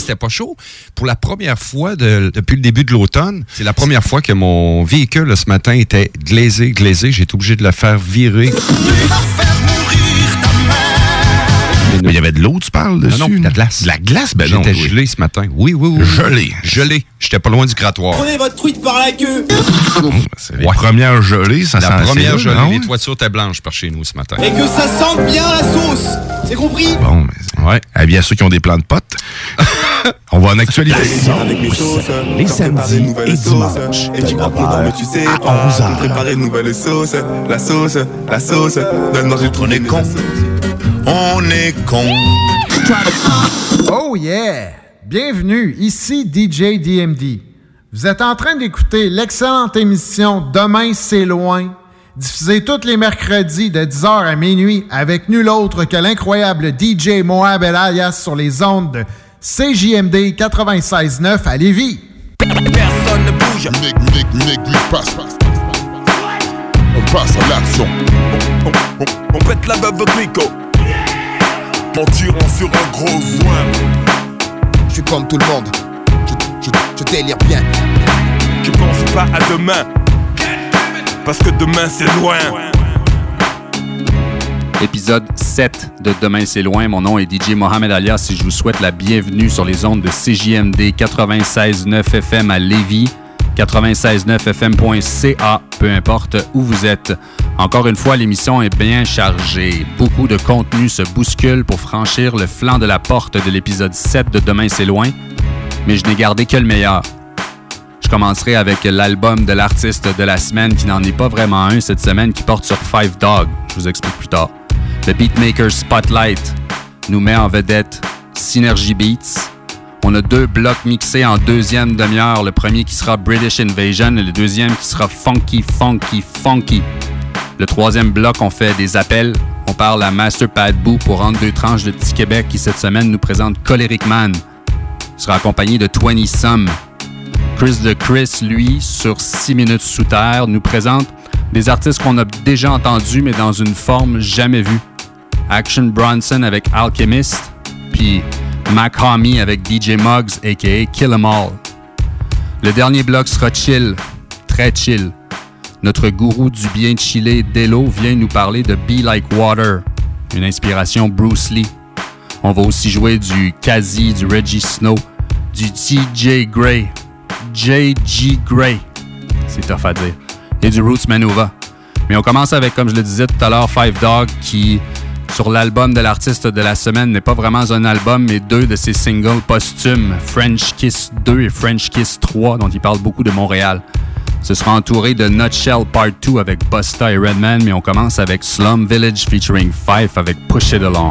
c'était pas chaud. Pour la première fois depuis le début de l'automne, c'est la première fois que mon véhicule ce matin était glazé. J'ai été obligé de le faire virer. Mais il y avait de l'eau, tu parles dessus? Non, de la glace. De la glace? Ben non. J'étais gelé ce matin. Oui. Gelé. J'étais pas loin du grattoir. Prenez votre truite par la queue. C'est les premières gelées, ça sent la première gelée. non? Les toitures étaient blanches par chez nous ce matin. Et que ça sente bien la sauce. C'est compris? Bon, mais ouais. Avis à ceux qui ont des plans de potes. On va en actualité. Les samedis et dimanches. Et tu crois qu'on mais tu sais pas. Préparer une nouvelle sauce. La sauce. Donne-moi du trou. On est con. On est con. Oh yeah! Bienvenue, ici DJ DMD. Vous êtes en train d'écouter l'excellente émission Demain c'est loin, diffusée tous les mercredis de 10h à minuit avec nul autre que l'incroyable DJ Moab El Alias sur les ondes de CJMD 96.9 à Lévis. Personne ne bouge. Nick, passe. On passe à l'action. On pète la beuve clico. Mentiront sur un gros soin. Je suis comme tout le monde. Je délire bien. Je pense pas à demain. Parce que demain c'est loin. Épisode 7 de Demain c'est loin. Mon nom est DJ Mohamed Alias et je vous souhaite la bienvenue sur les ondes de CJMD 96.9 FM à Lévis, 96.9fm.ca, peu importe où vous êtes. Encore une fois, l'émission est bien chargée. Beaucoup de contenu se bouscule pour franchir le flanc de la porte de l'épisode 7 de Demain c'est loin, mais je n'ai gardé que le meilleur. Je commencerai avec l'album de l'artiste de la semaine, qui n'en est pas vraiment un cette semaine, qui porte sur Five Dog. Je vous explique plus tard. Le Beatmaker Spotlight nous met en vedette Synergy Beats. On a 2 blocs mixés en deuxième demi-heure. Le premier qui sera British Invasion et le deuxième qui sera Funky. Le troisième bloc, on fait des appels. On parle à Master Pat Boo pour rendre 2 tranches de Petit Québec qui, cette semaine, nous présente Choleric Man. Il sera accompagné de 20 Some. Chris de Chris, lui, sur 6 minutes sous terre, nous présente des artistes qu'on a déjà entendus, mais dans une forme jamais vue. Action Bronson avec Alchemist, puis Mac Homie avec DJ Muggs, a.k.a. Kill 'Em All. Le dernier bloc sera chill, très chill. Notre gourou du bien chillé, Delo, vient nous parler de Be Like Water, une inspiration Bruce Lee. On va aussi jouer du Kazi, du Reggie Snow, du DJ Gray, J.G. Gray, c'est tough à dire, et du Roots Manuva. Mais on commence avec, comme je le disais tout à l'heure, Five Dog, qui, sur l'album de l'artiste de la semaine, n'est pas vraiment un album, mais 2 de ses singles posthumes, French Kiss 2 et French Kiss 3, dont il parle beaucoup de Montréal. Ce sera entouré de Nutshell Part 2 avec Busta et Redman, mais on commence avec Slum Village featuring Fife avec Push It Along.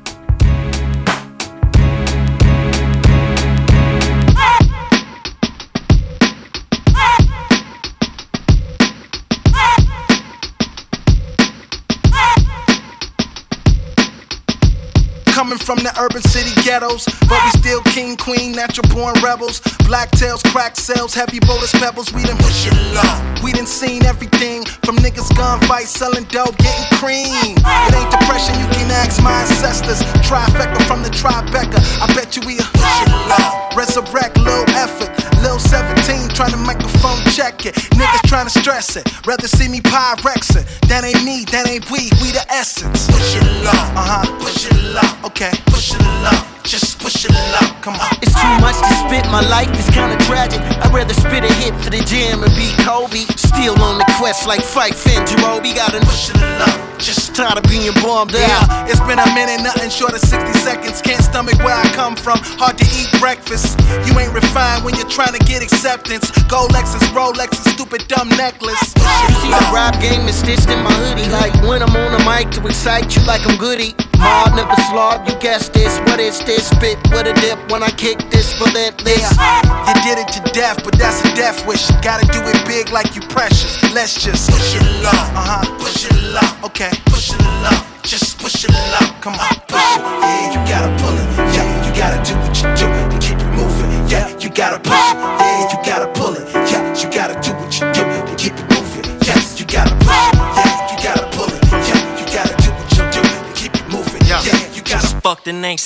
Coming from the urban city ghettos, but we still king, queen, natural born rebels. Black tails, crack cells, heavy boulders, pebbles, we done push it low. We done seen everything from niggas gunfights, selling dope, getting cream. It ain't depression, you can ask my ancestors. Trifecta from the Tribeca, I bet you we push it low. Resurrect, little effort, little 17 trying to microphone check it. Niggas trying to stress it, rather see me Pyrex it. That ain't me, that ain't we the essence. Push it low, push it low. Okay, push it low, just push it low, come on. It's too much to spit, my life is kinda tragic. I'd rather spit a hit for the jam and be Kobe. Still on the quest like Fife and Jamobi. Gotta push it low, just tired of being bombed out. Yeah, it's been a minute, nothing short of 60 seconds. Can't stomach where I come from, hard to eat breakfast. You ain't refined when you're trying to get acceptance. Gold Lexus, Rolexes, stupid dumb necklace. You see the rap game is stitched in my hoodie. Like when I'm on the mic to excite you like I'm Goody. Hard, never slog, you guess this. What is this? Spit with a dip when I kick this relentless. Yeah, you did it to death, but that's a death wish. Gotta do it big like you precious. Let's just push it low, push it low. Okay, push it low, just push it low. Come on, push it. Yeah, you gotta pull it. Yeah, you gotta do what you do to keep it moving. Yeah, you gotta push it. Yeah, you gotta pull it. Yeah, you gotta do what you do to keep it moving. Yes, you gotta push it. Yeah, you gotta pull it. Yeah, you gotta do what you do to keep it moving. Yeah, you gotta fucked and ain't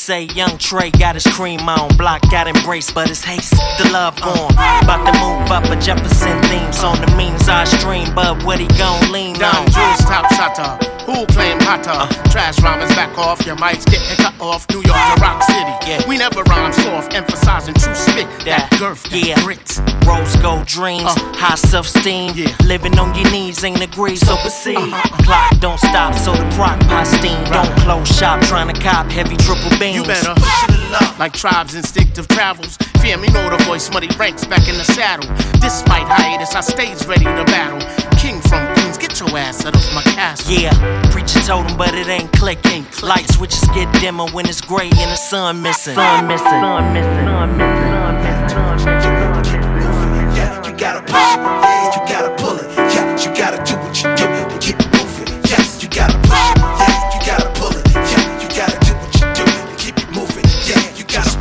say young Trey got his cream on. Block got embraced, but it's haste, the love bomb. About to move up a Jefferson themes on the means I stream, but what he gon' lean Don on? Jules top shutter. Who claim hotter? Trash rhymers back off, your mics getting cut off. New York to Rock City. Yeah. We never rhyme soft, emphasizing true spit. That girth, that grit. Rose gold dreams, high self-esteem. Living on your knees ain't agreed, so proceed. Clock don't stop, so the crock pot steam. Don't close shop, trying to cop heavy triple beams. You better push it up. Like tribes instinctive travels. Fear me, know the voice, muddy ranks back in the saddle. Despite hiatus, I stays ready to battle. King from Queens, get your ass out of my castle. Yeah, preacher told him, but it ain't clicking. Light switches get dimmer when it's gray and the sun missing. Sun missing. Sun missing. Sun missing. Sun missing. Sun missing. Yeah, you gotta push it. Yeah, you gotta pull it. Yeah, you gotta do what you do to keep it moving. Yes, you gotta push it. Yeah, you gotta pull it. Yeah, you gotta do what you do to keep it moving. Yeah, you gotta.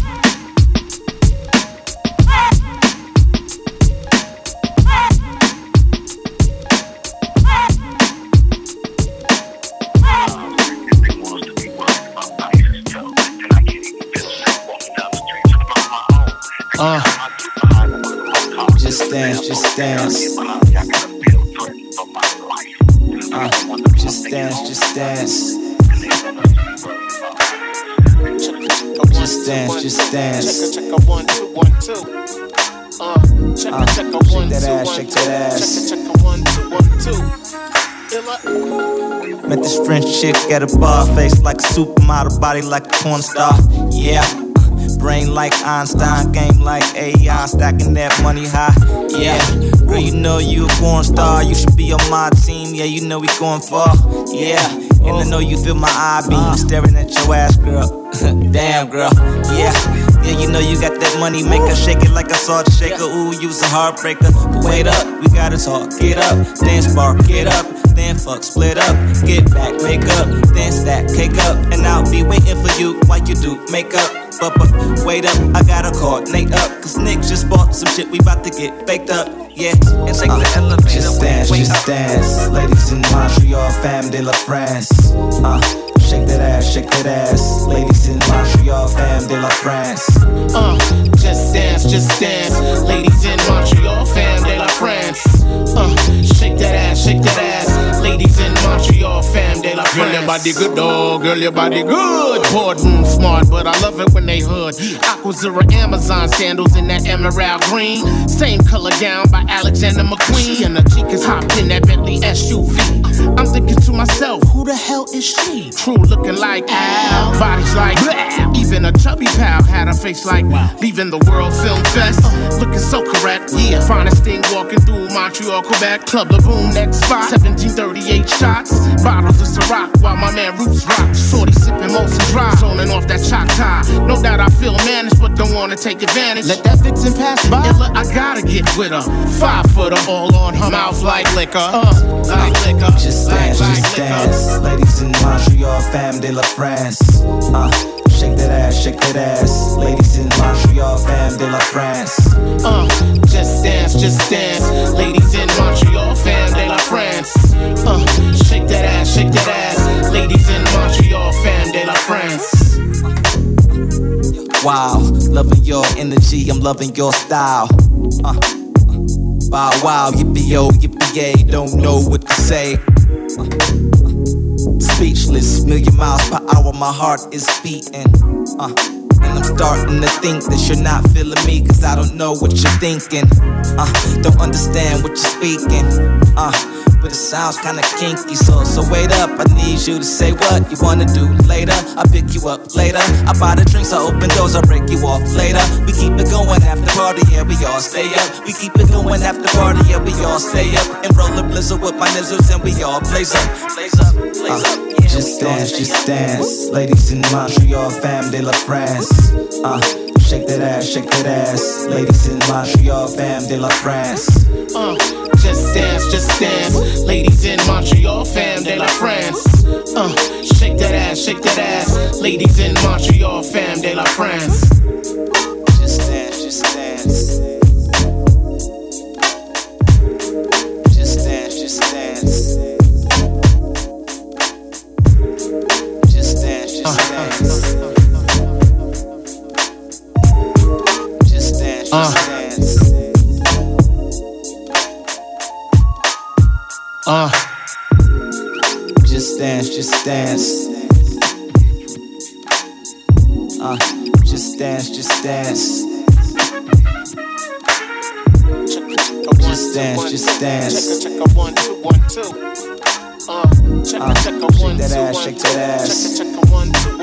Just dance, just dance. Just dance, just dance. Just dance, just dance. Check a 1, 2, 1, 2. Check a 1, 2, 1, 2. Shake that ass, shake that ass. Check a 1, 2, 1, 2. Met this French chick at a bar, face like a supermodel, body like a porn star. Yeah. Brain like Einstein, game like AI, stacking that money high. Yeah, girl, you know you a porn star. You should be on my team. Yeah, you know we going far. Yeah, and I know you feel my eye beam staring at your ass, girl. Damn, girl. Yeah, you know you got that money maker, shake it like a salt shaker. Ooh, you's a heartbreaker. But wait up, we gotta talk. Get up, dance bar, get up. Then fuck, split up, get back, make up, then stack, cake up, and I'll be waiting for you while you do makeup. But wait up, I gotta coordinate up, cause Nick just bought some shit, we bout to get baked up. Yeah, and take the elevator. Just dance, just dance. Ladies in Montreal, fam de la France. Shake that ass. Ladies in Montreal, fam de la France. Just dance. Ladies in Montreal, fam de la France. Shake that ass. Ladies in Montreal, fam de la France. Girl, your body good, dog. Girl, your body good. Boardroom smart, but I love it when they hood. Aquazura Amazon sandals in that emerald green. Same color gown by Alexander McQueen. And the chicas hopped in that Bentley SUV. I'm thinking to myself, who the hell is she? True looking like Al, bodies like blah. Even a chubby pal had a face like leaving the World Film Fest. Looking so correct, yeah. Finest thing walking through Montreal, Quebec. Club La Boom, next spot. 1738 shots. Bottles of Ciroc while my man Roots rock. Shorty sipping Molson Dry, zoning off that Choctaw. No doubt I feel managed, but don't wanna take advantage. Let that vixen pass by. Illa, I gotta get with her. 5 footer, all on her mouth like liquor. Like liquor. Just dance, just dance. Ladies in Montreal, fam de la France. Shake that ass. Ladies in Montreal, fam de la France. Just dance. Ladies in Montreal, fam de la France. Shake that ass. Ladies in Montreal, fam de la France. Wow, loving your energy, I'm loving your style. Wow, yippee-yo, yippee-yay, don't know what to say. Speechless, million miles per hour, my heart is beating. And I'm starting to think that you're not feeling me, cause I don't know what you're thinking. Don't understand what you're speaking. But it sounds kinda kinky, so wait up. I need you to say what you wanna do later. I'll pick you up later. I buy the drinks, I open doors, I'll break you off later. We keep it going after party, yeah, we all stay up. We keep it going after party, yeah, we all stay up. And roll a blizzard with my nizzles, and we all blaze up. Yeah, just dance. Ladies in Montreal, fam de la France. Shake that ass. Ladies in Montreal, fam de la France. Just dance. Ladies in Montreal, fam de la France. Shake that ass. Ladies in Montreal, fam de la France. Just dance. Just dance. Just dance. Just dance, just dance. Just dance, just dance. Just dance, just dance. Check a 1 2 1 2. Check a 1 2 1 2. Shake that ass, shake that ass. Check a 1 2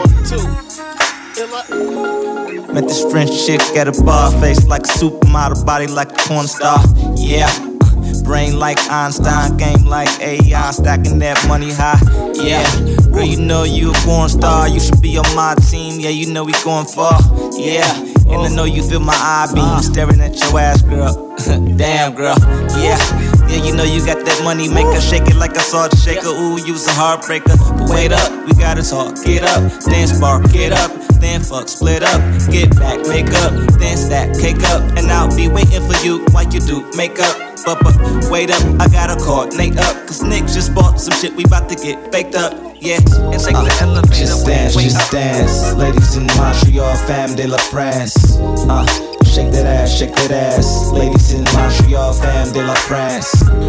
1 2. Met this French chick at a bar, face like a supermodel, body like a porn star. Yeah. Brain like Einstein, game like AI, stacking that money high. Yeah, girl, you know you a porn star. You should be on my team. Yeah, you know we going far. Yeah, and I know you feel my eye beam staring at your ass, girl. Damn, girl. Yeah, you know you got that money maker, shake it like a salt shaker. Ooh, you's a heartbreaker. But wait up, we gotta talk. Get up, then spark, get up. Then fuck, split up, get back, make up, then stack, cake up, and I'll be waiting for you while you do makeup. But wait up, I gotta coordinate up, cause Nick just bought some shit, we bout to get baked up. Yeah, and take the elevator. Just dance, just dance. Ladies in Montreal, fam de la France. Shake that ass. Ladies in Montreal, fam de la France.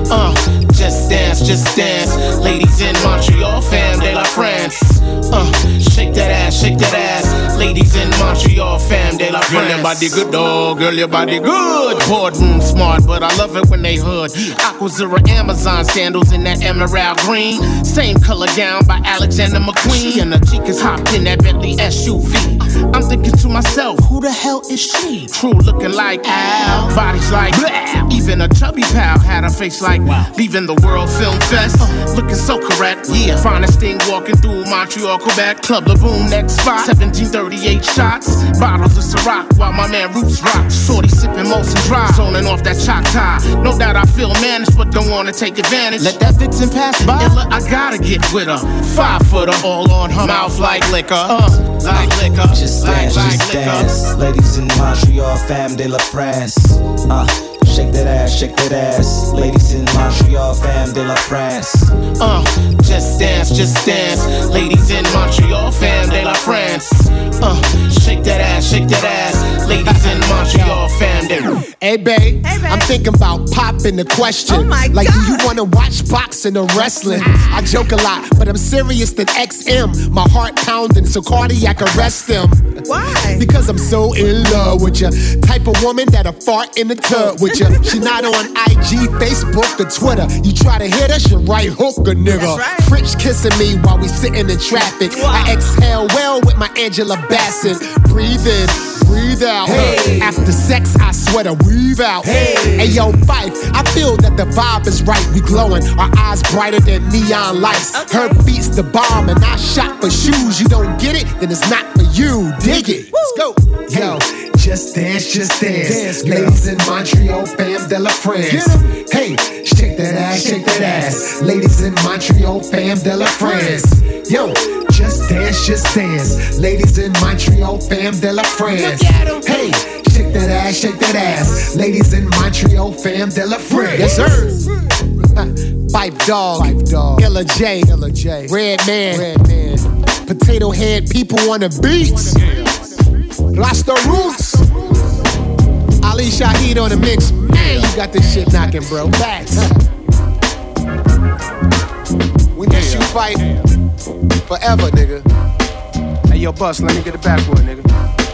Just dance, just dance. Ladies in Montreal, fam de la France. Shake that ass. Ladies in Montreal, fam de la France. Girl, your body good, dog. Girl, your body good. Boardroom smart, but I love it when they hood. Aquazura Amazon sandals in that emerald green. Same color gown by Alexander McQueen. She and the chicas hopped in that Bentley SUV. I'm thinking to myself, who the hell is she? True looking like Al, bodies like blah. Even a chubby pal had a face like leaving the World Film Fest. Looking so correct, yeah. Finest thing walking through Montreal, Quebec. Club La Boom, next spot. 1738 shots. Bottles of Ciroc while my man Roots rock. Shorty sipping Molson Dry, zoning off that Choctaw. No doubt I feel managed, but don't wanna take advantage. Let that vixen pass by. Illa, I gotta get with her. 5-footer, all on her mouth like liquor. Like liquor. Just dance, just dance. Ladies in Montreal, fam de la France. Shake that ass. Ladies in Montreal, fam de la France. Just dance, just dance. Ladies in Montreal, fam de la France. Shake that ass. Ladies in Montreal, fam de la France. Hey, babe, I'm thinking about popping the question. Oh my like, God. do you wanna watch boxing or wrestling? I joke a lot, but I'm serious than XM. My heart pounding, so cardiac arrest him. Why? Because I'm so in love with ya. Type of woman that'll fart in the tub with ya. She not on IG, Facebook, or Twitter. You try to hit her, she right hook a nigga. That's right. French kissing me while we sitting in traffic. I exhale well with my Angela Bassett. Breathe in, breathe out. Hey. After sex, I sweat a weave out. Hey yo, Fife, I feel that the vibe is right. We glowing, our eyes brighter than neon lights. Okay. Her beats the bomb, and I shop for shoes. You don't get it, then it's not for you. Dig it. Let's go. Yo, just dance, just dance. Ladies in Montreal, fam de la France. Hey, shake that ass. Ladies in Montreal, fam de la France. Yo, just dance, just dance. Ladies in Montreal, fam de la France. Hey, shake that ass. Ladies in Montreal, fam de la France. Yes, sir. Pipe Dog, Illa J, Red Man, Potato Head, people on the beats. Rasta Roots, Ali Shaheed on the mix. Man, you got this shit knocking, bro. Facts. We miss you fight forever, nigga. Hey, yo, Bus, let me get the backboard, nigga.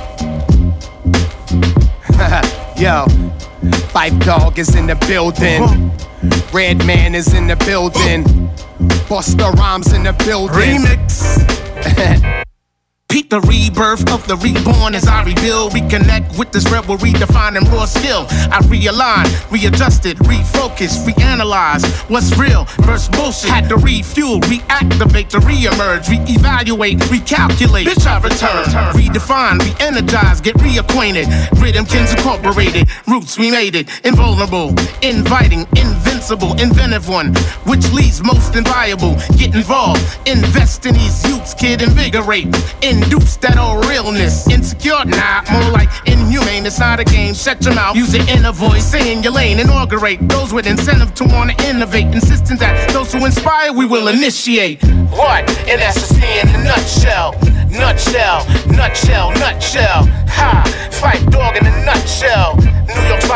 Yo, Pipe Dog is in the building. Red Man is in the building. Busta Rhymes in the building. Remix. Peep the rebirth of the reborn as I rebuild, reconnect with this rebel, redefining raw skill. I realign, readjusted, refocus, reanalyze what's real versus bullshit. Had to refuel, reactivate, to reemerge, reevaluate, recalculate. Bitch, I return, redefine, reenergize, get reacquainted. Rhythmkins incorporated, roots we made it. Invulnerable, inviting, invincible, inventive one, which leads most inviolable. Get involved, invest in these youths, kid, invigorate. Induce that old realness. Insecure, nah, more like inhumane. It's not a game, shut your mouth. Use your inner voice, stay in your lane. Inaugurate those with incentive to wanna innovate. Insistent that those who inspire, we will initiate. What? And that's just me in a nutshell. Nutshell. Ha, Fight Dog in a nutshell.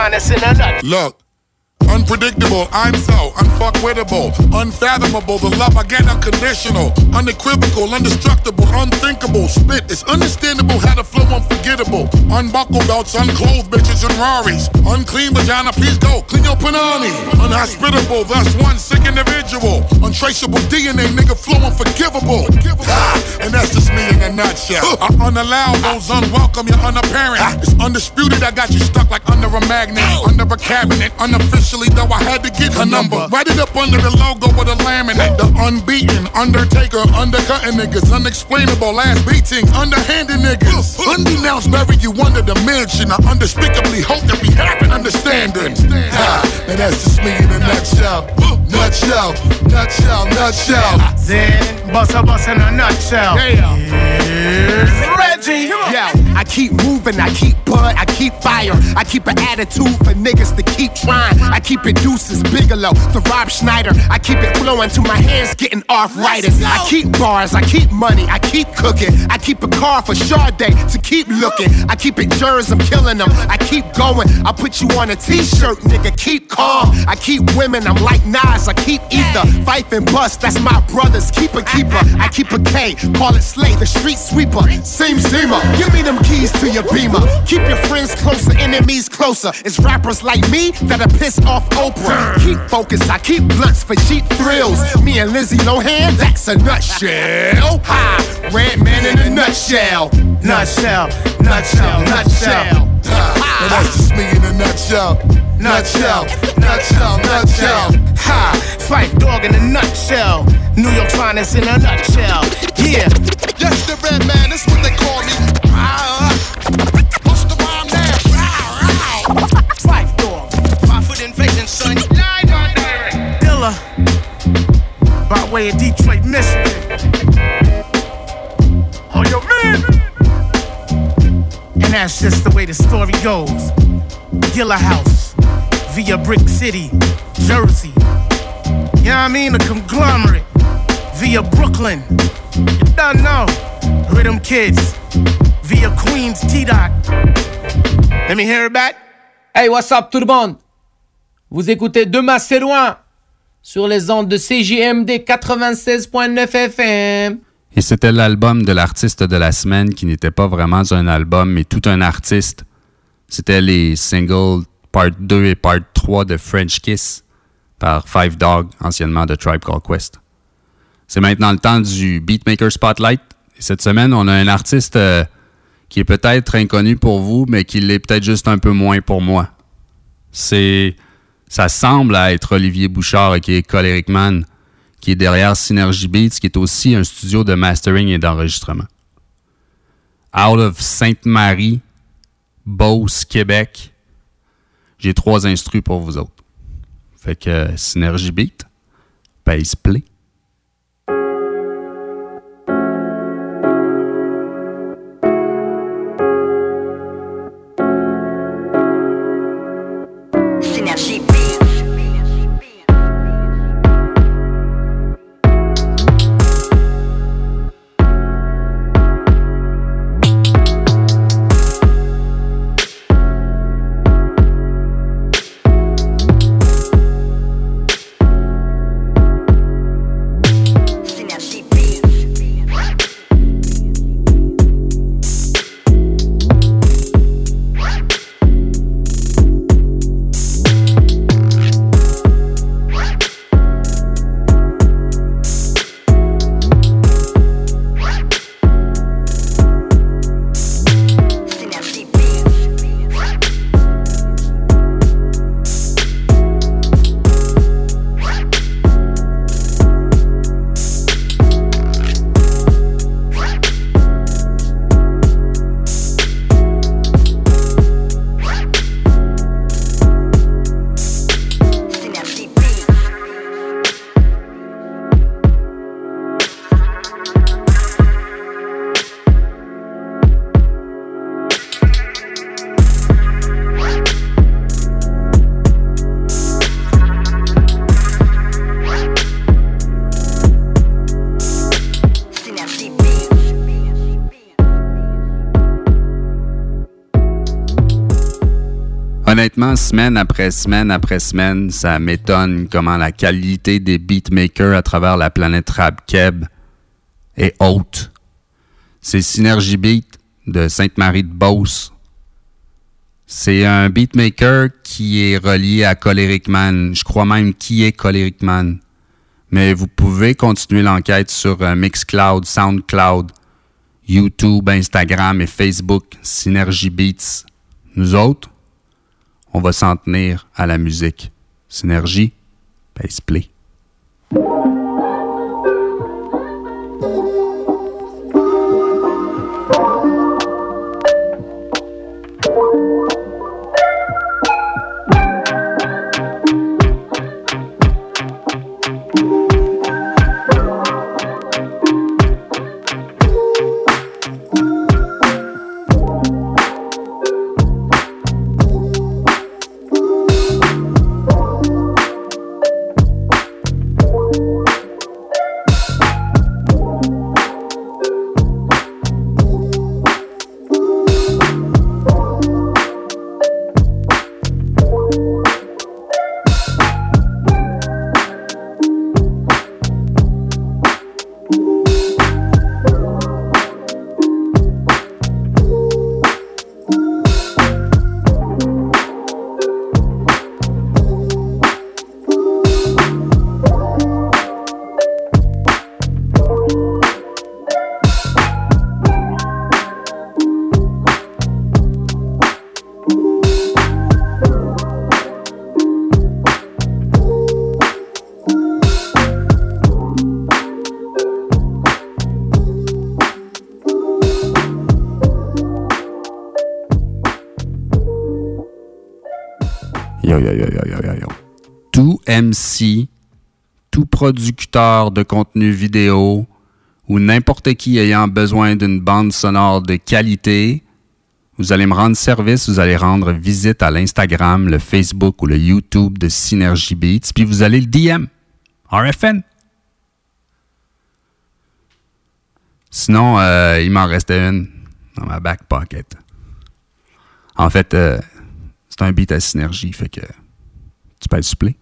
finest in a nut. Look. Unpredictable, I'm so unfuckwittable, unfathomable, the love I get unconditional, unequivocal, indestructible, unthinkable, spit is understandable, how to flow unforgettable, unbuckled belts, unclothed bitches and Raris, unclean vagina, please go, clean your panani, unhospitable, thus one sick individual, untraceable DNA, nigga flow unforgivable, and that's just me in a nutshell, I unallow those unwelcome, you're unapparent, it's undisputed, I got you stuck like under a magnet, under a cabinet, unofficially, though I had to get her number. Write it up under the logo with a laminate. The unbeaten, undertaker, undercutting niggas. Unexplainable, ass beating, underhanded niggas. Undenounced, bury you under the mansion. I unspeakably hope that we have an understanding. And that's just me in a nutshell. Nutshell, nutshell, nutshell. Then, bust in a nutshell. Here's Reggie. Yo, I keep moving, I keep bud, I keep fire. I keep an attitude for niggas to keep trying. I keep it Deuces, Bigelow, the Rob Schneider. I keep it flowing till my hands getting arthritis. I keep bars, I keep money, I keep cooking. I keep a car for Sade to keep looking. I keep it jurors, I'm killing them. I keep going, I put you on a t-shirt, nigga, keep calm. I keep women, I'm like Nas, I keep ether. Fife and Bust, that's my brothers, keeper. I keep a K, call it Slay, the street sweeper. Seamer, give me them keys to your Beamer. Keep your friends closer, enemies closer. It's rappers like me that'll piss off Oprah. Keep focused, I keep blunts for cheap thrills. Me and Lizzie Lohan, that's a nutshell. Ha, Red Man in a nutshell. Nutshell, nutshell, nutshell. And that's just me in a nutshell. Nutshell, nutshell, nutshell. Ha, Phife Dawg in a nutshell. New York's finest in a nutshell. Yeah. Yes, the Red Man, that's what they call me. What's the rhyme now? Phife Dawg, 5 foot invasion, son. Live on direct. Dilla, by way of Detroit, Michigan. Oh, yo, man. And that's just the way the story goes. Gilla House, via Brick City, Jersey. You know what I mean? A conglomerate, via Brooklyn. You don't know. Rhythm Kids, via Queens, T-Dot. Let me hear it back. Hey, what's up tout le monde? Vous écoutez Demain c'est loin sur les ondes de CJMD 96.9 FM. Et c'était l'album de l'artiste de la semaine qui n'était pas vraiment un album, mais tout un artiste. C'était les singles Part 2 et Part 3 de French Kiss par Phife Dawg, anciennement de Tribe Called Quest. C'est maintenant le temps du Beatmaker Spotlight. Et cette semaine, on a un artiste qui est peut-être inconnu pour vous, mais qui l'est peut-être juste un peu moins pour moi. Ça semble être Olivier Bouchard, qui est Choleric Man, qui est derrière Synergy Beats, qui est aussi un studio de mastering et d'enregistrement. Out of Sainte-Marie, Beauce, Québec, j'ai 3 instrus pour vous autres. Fait que Synergy Beat, bass play. Synergy Beat. Honnêtement, semaine après semaine après semaine, ça m'étonne comment la qualité des beatmakers à travers la planète rap-keb est haute. C'est Synergy Beat de Sainte-Marie-de-Beauce. C'est un beatmaker qui est relié à Choleric Man. Je crois même qui est Choleric Man. Mais vous pouvez continuer l'enquête sur Mixcloud, Soundcloud, YouTube, Instagram et Facebook, Synergy Beats. Nous autres, on va s'en tenir à la musique. Synergie, pace play. Tout MC, tout producteur de contenu vidéo ou n'importe qui ayant besoin d'une bande sonore de qualité, vous allez me rendre service, vous allez rendre visite à l'Instagram, le Facebook ou le YouTube de Synergy Beats, puis vous allez le DM, RFN. Sinon, il m'en restait une dans ma back pocket. En fait, c'est un beat à Synergie, fait que tu peux le suppléer.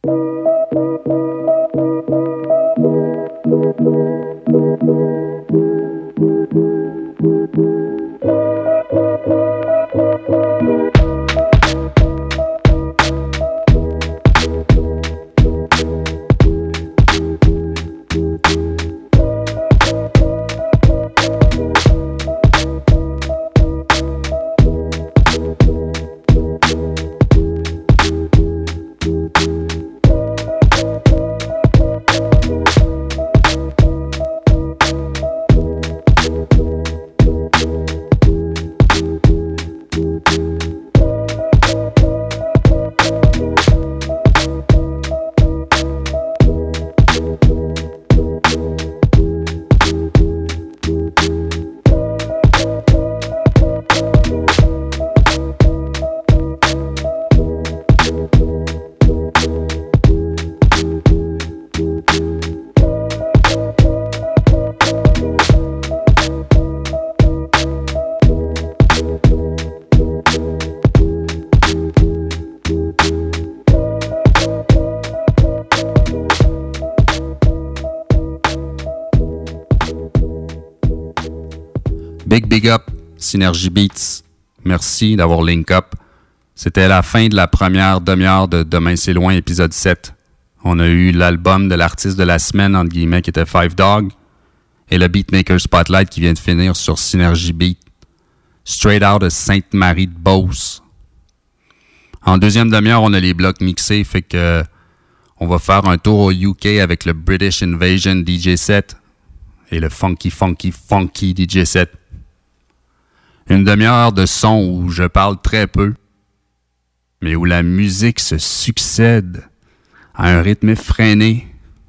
Big up, Synergy Beats. Merci d'avoir link up. C'était la fin de la première demi-heure de Demain c'est loin, épisode 7. On a eu l'album de l'artiste de la semaine, entre guillemets, qui était Five Dog, et le Beatmaker Spotlight qui vient de finir sur Synergy Beat. Straight out de Sainte-Marie-de-Beauce. En deuxième demi-heure, on a les blocs mixés, fait que on va faire un tour au UK avec le British Invasion DJ set et le Funky DJ set. Une demi-heure de son où je parle très peu, mais où la musique se succède à un rythme effréné.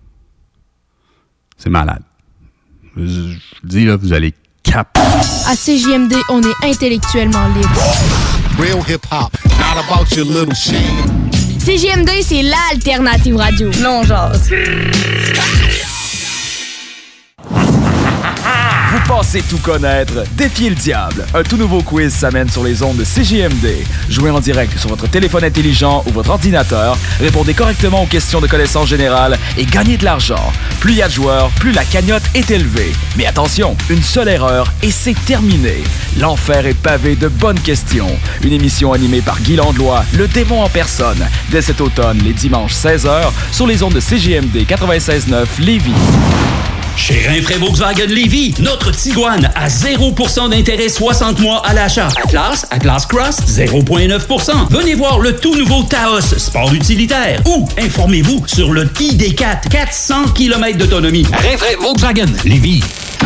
C'est malade. Je dis là, vous allez cap. À CJMD, on est intellectuellement libre. Real hip-hop, not about your little shit. CJMD, c'est l'alternative radio. Non, genre. Vous pensez tout connaître? Défiez le diable. Un tout nouveau quiz s'amène sur les ondes de CJMD. Jouez en direct sur votre téléphone intelligent ou votre ordinateur. Répondez correctement aux questions de connaissances générales et gagnez de l'argent. Plus il y a de joueurs, plus la cagnotte est élevée. Mais attention, une seule erreur et c'est terminé. L'enfer est pavé de bonnes questions. Une émission animée par Guy Landlois, le démon en personne. Dès cet automne, les dimanches 16h, sur les ondes de CJMD 96.9 Lévis. Chez Rinfraie Volkswagen Lévis, notre Tiguan à 0% d'intérêt 60 mois à l'achat. Atlas Cross, 0,9%. Venez voir le tout nouveau Taos, sport utilitaire. Ou informez-vous sur le ID4, 400 km d'autonomie. Rinfraie Volkswagen Lévis.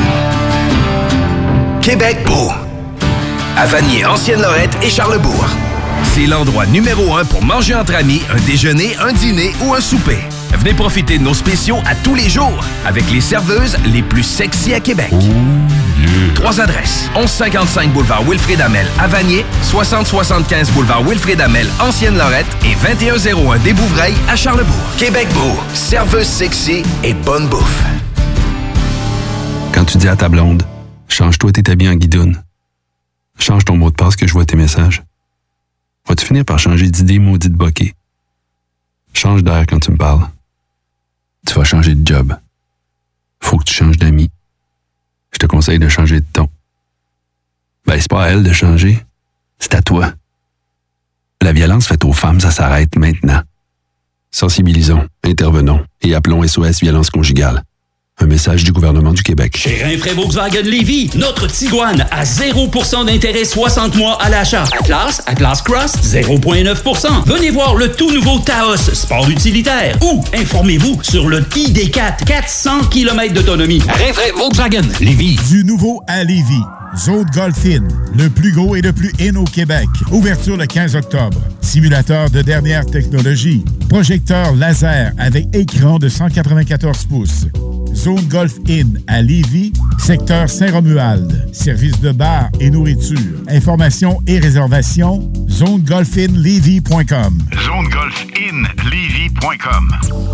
Québec beau. À Vanier, Ancienne-Lorette et Charlebourg. C'est l'endroit numéro 1 pour manger entre amis, un déjeuner, un dîner ou un souper. Venez profiter de nos spéciaux à tous les jours avec les serveuses les plus sexy à Québec. 3 adresses. 1155 boulevard Wilfrid Hamel à Vanier, 6075 boulevard Wilfrid Hamel, Ancienne-Lorette et 2101 des Bouvrailles à Charlebourg. Québec beau, serveuse sexy et bonne bouffe. Quand tu dis à ta blonde, change-toi tes habits en guidoune. Change ton mot de passe que je vois tes messages. Vas-tu finir par changer d'idée maudite bokeh? Change d'air quand tu me parles. Tu vas changer de job. Faut que tu changes d'amis. Je te conseille de changer de ton. Ben, c'est pas à elle de changer. C'est à toi. La violence faite aux femmes, ça s'arrête maintenant. Sensibilisons, intervenons et appelons SOS Violence Conjugale. Un message du gouvernement du Québec. Chez Rinfraie Volkswagen Lévis, notre Tiguan à 0% d'intérêt 60 mois à l'achat. Atlas Cross, 0,9%. Venez voir le tout nouveau Taos, sport utilitaire. Ou informez-vous sur le ID4, 400 km d'autonomie. Rinfraie Volkswagen Lévis. Du nouveau à Lévis. Zone Golf In, le plus gros et le plus in au Québec. Ouverture le 15 octobre. Simulateur de dernière technologie. Projecteur laser avec écran de 194 pouces. Zone Golf In à Lévis, secteur Saint-Romuald. Service de bar et nourriture. Informations et réservations, zonegolfinlevy.com. zonegolfinlevy.com.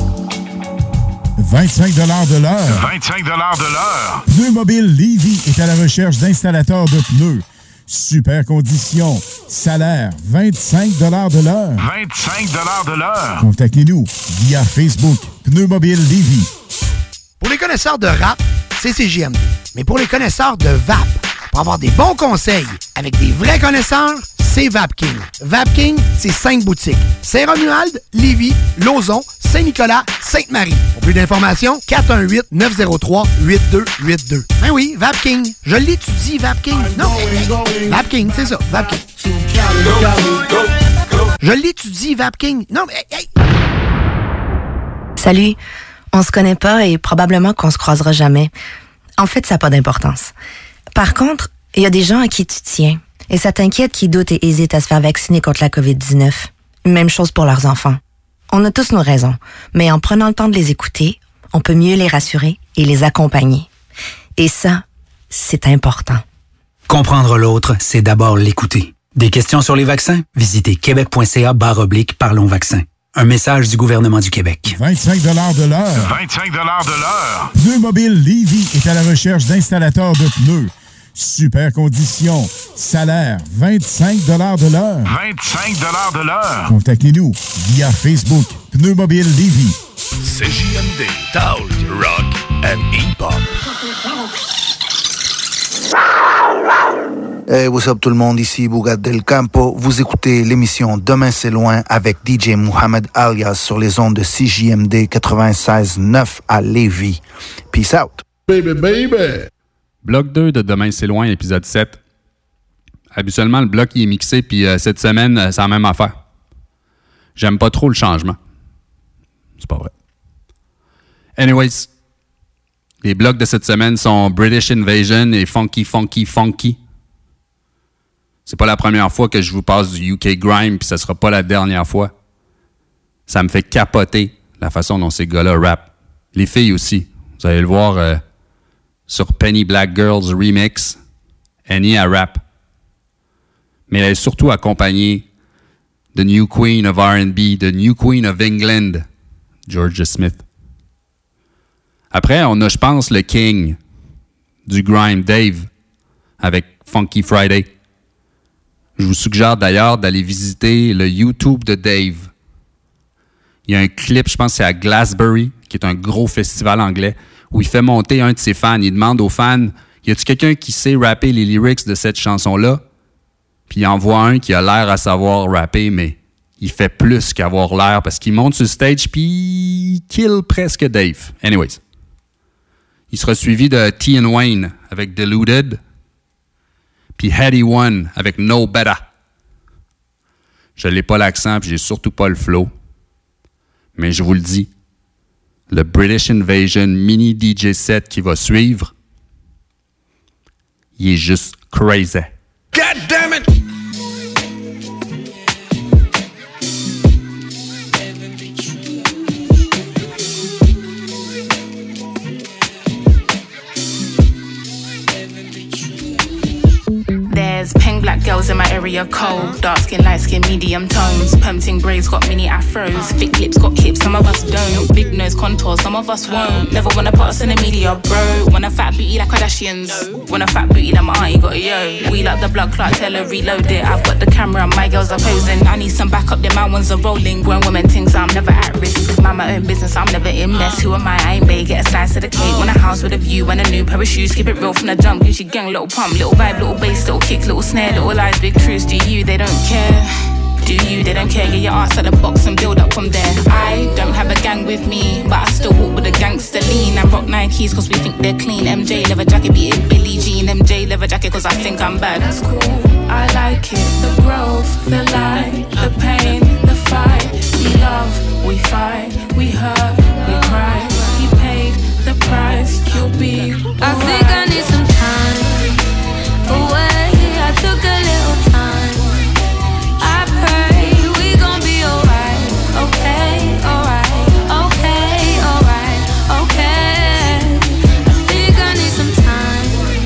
25 $ de l'heure. 25 $ de l'heure. Pneus Mobile Lévis est à la recherche d'installateurs de pneus. Super conditions. Salaire, 25 $ de l'heure. 25 $ de l'heure. Contactez-nous via Facebook. Pneus Mobile Lévis. Pour les connaisseurs de rap, c'est CJMD. Mais pour les connaisseurs de vape, pour avoir des bons conseils avec des vrais connaisseurs, c'est Vapking. Vapking, c'est 5 boutiques. Saint-Romuald, Lévis, Lauson, Saint-Nicolas, Sainte-Marie. Pour plus d'informations, 418-903-8282. Ben oui, Vapking. Je l'étudie, Vapking. Non, Vapking, c'est ça, Vapking. Je l'étudie, Vapking. Non, mais... Hey. Salut. On se connaît pas et probablement qu'on se croisera jamais. En fait, ça n'a pas d'importance. Par contre, il y a des gens à qui tu tiens. Et ça t'inquiète qui doutent et hésitent à se faire vacciner contre la COVID-19. Même chose pour leurs enfants. On a tous nos raisons, mais en prenant le temps de les écouter, on peut mieux les rassurer et les accompagner. Et ça, c'est important. Comprendre l'autre, c'est d'abord l'écouter. Des questions sur les vaccins? Visitez québec.ca/parlons vaccins. Un message du gouvernement du Québec. 25 $ de l'heure. 25 $ de l'heure. Pneus Mobile Lévis est à la recherche d'installateurs de pneus. Super conditions. Salaire, 25 $ de l'heure. 25 $ de l'heure. Contactez-nous via Facebook. Pneus Mobile Lévis. CJMD, Talk, Rock and Hip-Hop. Hey, what's up tout le monde, ici Bougat Del Campo. Vous écoutez l'émission Demain c'est loin avec DJ Mohamed Alias sur les ondes de CJMD 96.9 à Lévis. Peace out. Baby, baby. Bloc 2 de Demain c'est loin, épisode 7. Habituellement, le bloc il est mixé, puis cette semaine, c'est la même affaire. J'aime pas trop le changement. C'est pas vrai. Anyways, les blocs de cette semaine sont British Invasion et Funky Funky Funky. C'est pas la première fois que je vous passe du UK Grime, puis ça sera pas la dernière fois. Ça me fait capoter la façon dont ces gars-là rappent. Les filles aussi. Vous allez le voir sur Penny Black Girls Remix. Annie a rap. Mais elle est surtout accompagnée de New Queen of R&B, de New Queen of England, Georgia Smith. Après, on a, je pense, le King du grime, Dave, avec Funky Friday. Je vous suggère d'ailleurs d'aller visiter le YouTube de Dave. Il y a un clip, je pense que c'est à Glastonbury, qui est un gros festival anglais, où il fait monter un de ses fans. Il demande aux fans, y a-t-il quelqu'un qui sait rapper les lyrics de cette chanson-là? Puis il envoie un qui a l'air à savoir rapper, mais il fait plus qu'avoir l'air parce qu'il monte sur le stage puis il kill presque Dave. Anyways. Il sera suivi de T and Wayne avec Deluded, puis Heady One avec No Better. Je n'ai pas l'accent puis j'ai surtout pas le flow. Mais je vous le dis, le British Invasion mini DJ set qui va suivre, il est juste crazy. God damn it! There's pink black girls in my area cold. Dark skin, light skin, medium tones. Permting braids got mini afros. Thick lips got hips, some of us don't. Big nose contours, some of us won't. Never wanna put us in the media, bro. Want a fat booty like Kardashians. Want a fat booty like my auntie got a yo. Wheel up the blood clot, tell her reload it. I've got the camera, my girls are posing. I need some backup, then my ones are rolling. Grown women things, I'm never at risk. Mind my own business, I'm never in mess. Who am I ain't bae, get a slice of the cake. Want a house with a view and a new pair of shoes. Keep it real from the jump, Gucci gang, little pump. Little vibe, little bass, little kick, little snare, little lies, big truths. Do you, they don't care. Do you, they don't care. Get your ass at the box and build up from there. I don't have a gang with me, but I still walk with a gangster lean. I rock Nikes cause we think they're clean. MJ leather jacket, beat it Billie Jean. MJ leather jacket cause I think I'm bad. That's cool, I like it. The growth, the light, the pain, the fight. We love, we fight, we hurt, we cry. He paid the price, you'll be alright. I think I need some time away. I took a little time. I pray we gon' be alright. Okay, alright, okay, alright, okay. I think I need some time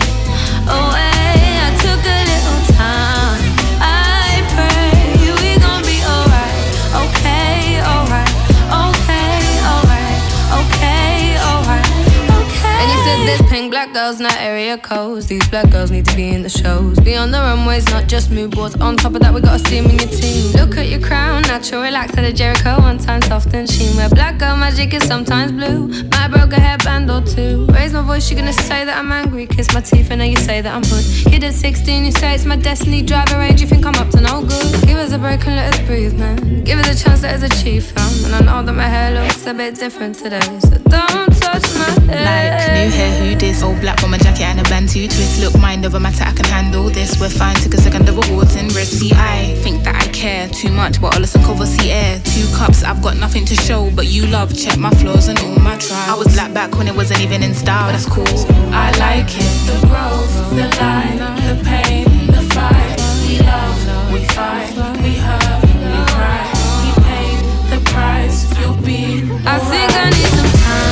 away. I took a little time. I pray we gon' be alright. Okay, alright, okay, alright, okay, alright, okay. And you said there's pink black girls, not area codes. These black girls need to be in the shows. Be on the runways, not just mood boards. On top of that, we got a steam in your team. Look at your crown, natural, relaxed at a Jericho. One time soft and sheen. Where black girl magic is sometimes blue. Might broke a hairband or two. Raise my voice, you're gonna say that I'm angry. Kiss my teeth, and now you say that I'm hood. Kid at 16, you say it's my destiny. Drive a range, you think I'm up to no good. Give us a break and let us breathe, man. Give us a chance, let us achieve, fam. And I know that my hair looks a bit different today, so don't touch my hair. Like new hair, who this? Old black bomber jacket and a bantu twist. Look, mind over matter, I can handle this. We're fine, took a second of awards and risk. See, I think that I care too much, but all listen cover, see air. 2 cups, I've got nothing to show, but you love, check my flaws and all my trials. I was black back when it wasn't even in style, that's cool. I like it, the growth, the light, the pain, the fight. We love, we fight, we hurt, we cry. He paid the price, you'll be alright. I think I need some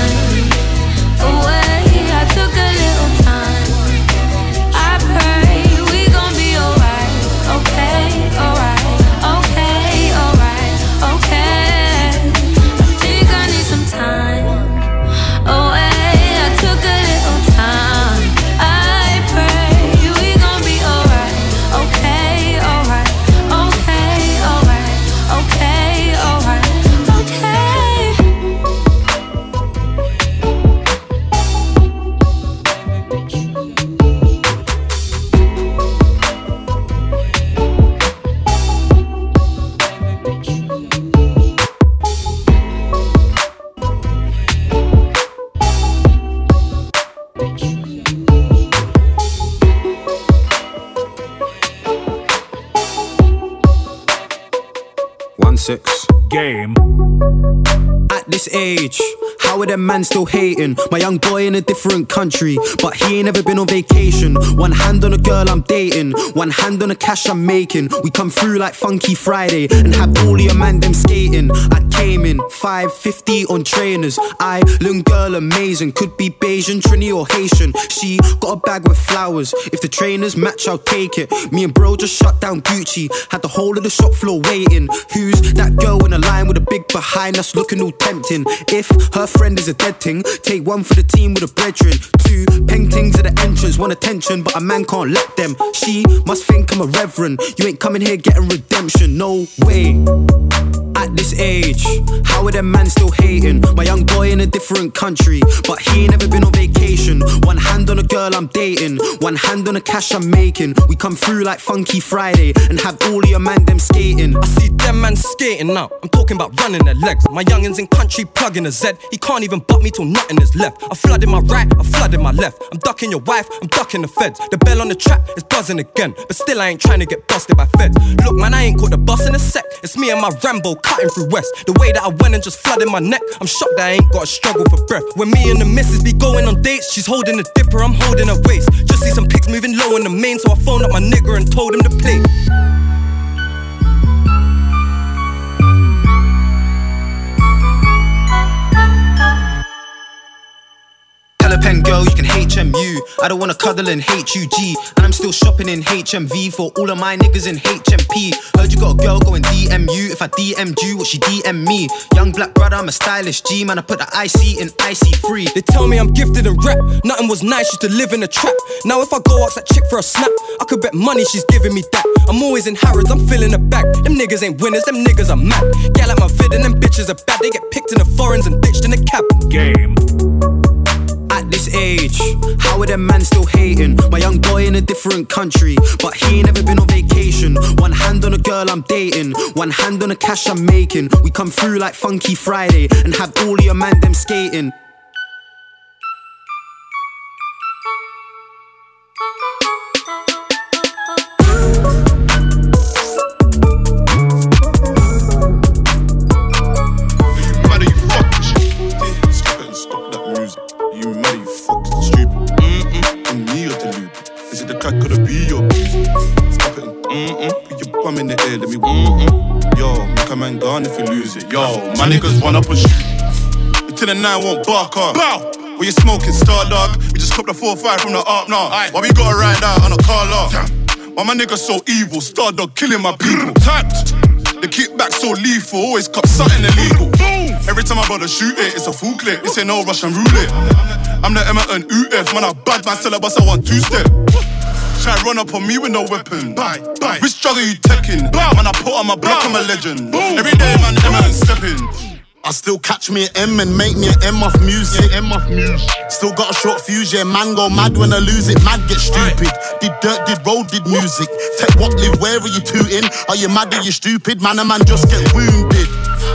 time away. I took a little time. I pray we gon' be alright. Okay, alright, okay, alright, okay. I think I need some time away. I took a little time. I pray we gon' be alright. Okay, alright, okay, alright, okay, alright, okay. Game. At this age, how are them man still hating? My young boy in a different country, but he ain't ever been on vacation. One hand on a girl I'm dating, one hand on the cash I'm making. We come through like Funky Friday and have all your man them skating. I came in 550 on trainers. Island girl amazing, could be Bayesian, Trini or Haitian. She got a bag with flowers. If the trainers match, I'll take it. Me and bro just shut down Gucci, had the whole of the shop floor waiting. Who's that girl in a line with a big behind us, looking all tempting? tempting. If her friend is a dead thing, take one for the team with a brethren. 2 paintings at the entrance, want attention, but a man can't let them. She must think I'm a reverend. You ain't coming here getting redemption, no way. At this age, how are them man still hating? My young boy in a different country, but he ain't never been on vacation. One hand on a girl I'm dating, one hand on the cash I'm making. We come through like Funky Friday and have all of your man them skating. I see them man skating now, I'm talking about running their legs. My youngins in country plugging a Z, he can't even butt me till nothing is left. I flooded my right, I flooded my left. I'm ducking your wife, I'm ducking the feds. The bell on the trap is buzzing again, but still I ain't trying to get busted by feds. Look man, I ain't caught the bus in a sec. It's me and my Rambo cutting through West. The way that I went and just flooded my neck, I'm shocked that I ain't got a struggle for breath. When me and the missus be going on dates, she's holding a dipper, I'm holding her waist. Just see some pics moving low in the main, so I phoned up my nigga and told him to play. Pen girl, you can HMU. I don't wanna cuddle in HUG. And I'm still shopping in HMV for all of my niggas in HMP. Heard you got a girl going DMU. If I DM'd you, what she DM me? Young black brother, I'm a stylish G. Man, I put the IC in IC3. They tell me I'm gifted in rap. Nothing was nice, used to live in a trap. Now if I go ask that chick for a snap, I could bet money she's giving me that. I'm always in Harrods, I'm filling the bag. Them niggas ain't winners, them niggas are mad. Gal like my vid and them bitches are bad. They get picked in the foreigns and ditched in the cab. Game. At this age, how are them man still hating? My young boy in a different country, but he ain't never been on vacation. One hand on a girl I'm dating, one hand on the cash I'm making. We come through like Funky Friday and have all of your man them skating. Could it be your music? Stop it and put your bum in the air, let me Yo, make a man gone if you lose it. Yo, my niggas run up and shoot until the 9 won't bark up. Bow! What you smoking, Star Dog? We just copped a 4-5 from the up now. Why we gotta ride out on a car lot? Why my niggas so evil? Star Dog killing my people. Tapped. The kickback so lethal, always cop something illegal. Every time I bother shoot it, it's a full clip. This ain't no Russian roulette. I'm the Emerton UF, man, I bad man, sell a bus, I want 2-step. Try run up on me with no weapon. Which drug are you taking? Man, I put on my block, I'm a legend. Every day, man, Emerton stepping. I still catch me an M and make me an M off music. Still got a short fuse, yeah, man go mad when I lose it. Mad get stupid. Did dirt, did road, did music. Tech what, live, where are you tooting? Are you mad, are you stupid? Man, a man just get wounded.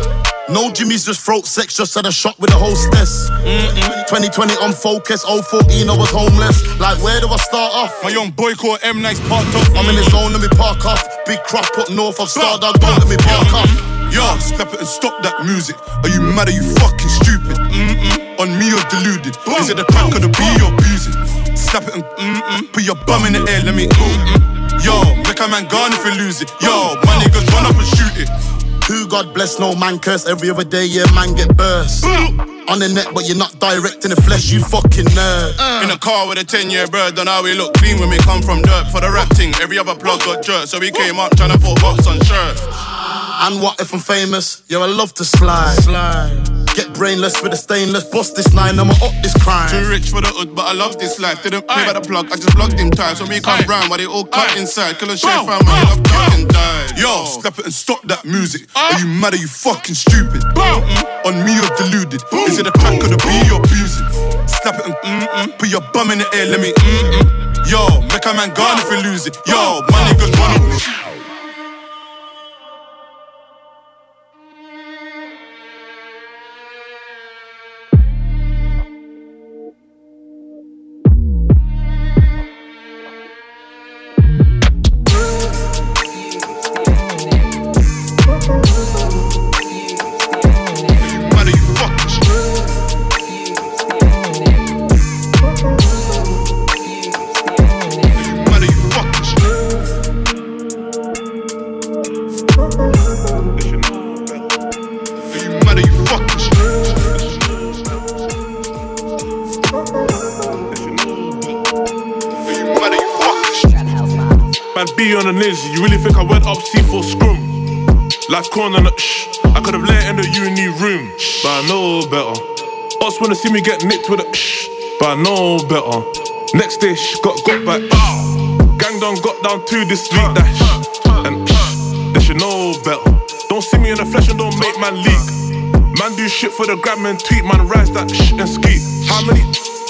No Jimmy's just throat sex, just had a shot with a hostess. 2020 on focus, 014 I was homeless. Like where do I start off? My young boy called M Nice parked up. I'm in the zone, let me park off. Big crop up north of Star Dog, don't let me park off. Yo, step it and stop that music. Are you mad, are you fucking stupid? On me or deluded? Is it the crack or the B you're abusing? Snap it and put your bum in the air, let me Yo, make a man gone if you lose it. Yo, my niggas run up and shoot it. Who God bless, no man curse. Every other day, yeah, man get burst. On the net, but you're not direct in the flesh, you fucking nerd. In a car with a 10-year bird, done how we look clean when we come from dirt. For the rap thing, every other plug got jerked, so we came up trying to put box on shirts. And what if I'm famous? Yo, I love to slide. Get brainless with a stainless. Bust this 9, I'ma up this crime. Too rich for the hood, but I love this life. Didn't pay by the plug, I just plugged him tight. So we come round, but they all cut inside. Kill a chef, I'm up, duck and died. Yo, step it and stop that music. Are you mad, are you fucking stupid? On me or deluded? Is it the crack or the B you're abusing? Step it and put your bum in the air, let me Yo, make a man gone if we lose it. Yo, my niggas run up and shoot. Man, be on a ninja, you really think I went up C4 scrum? Like corn on a I could've let in the uni room, but I know better. Us wanna see me get nicked with a but I know better. Next day, got back. Gang done got down to this week, that and they should know better. Don't see me in the flesh and don't make man leak. Man do shit for the gram and tweet, man rise that and ski. How many?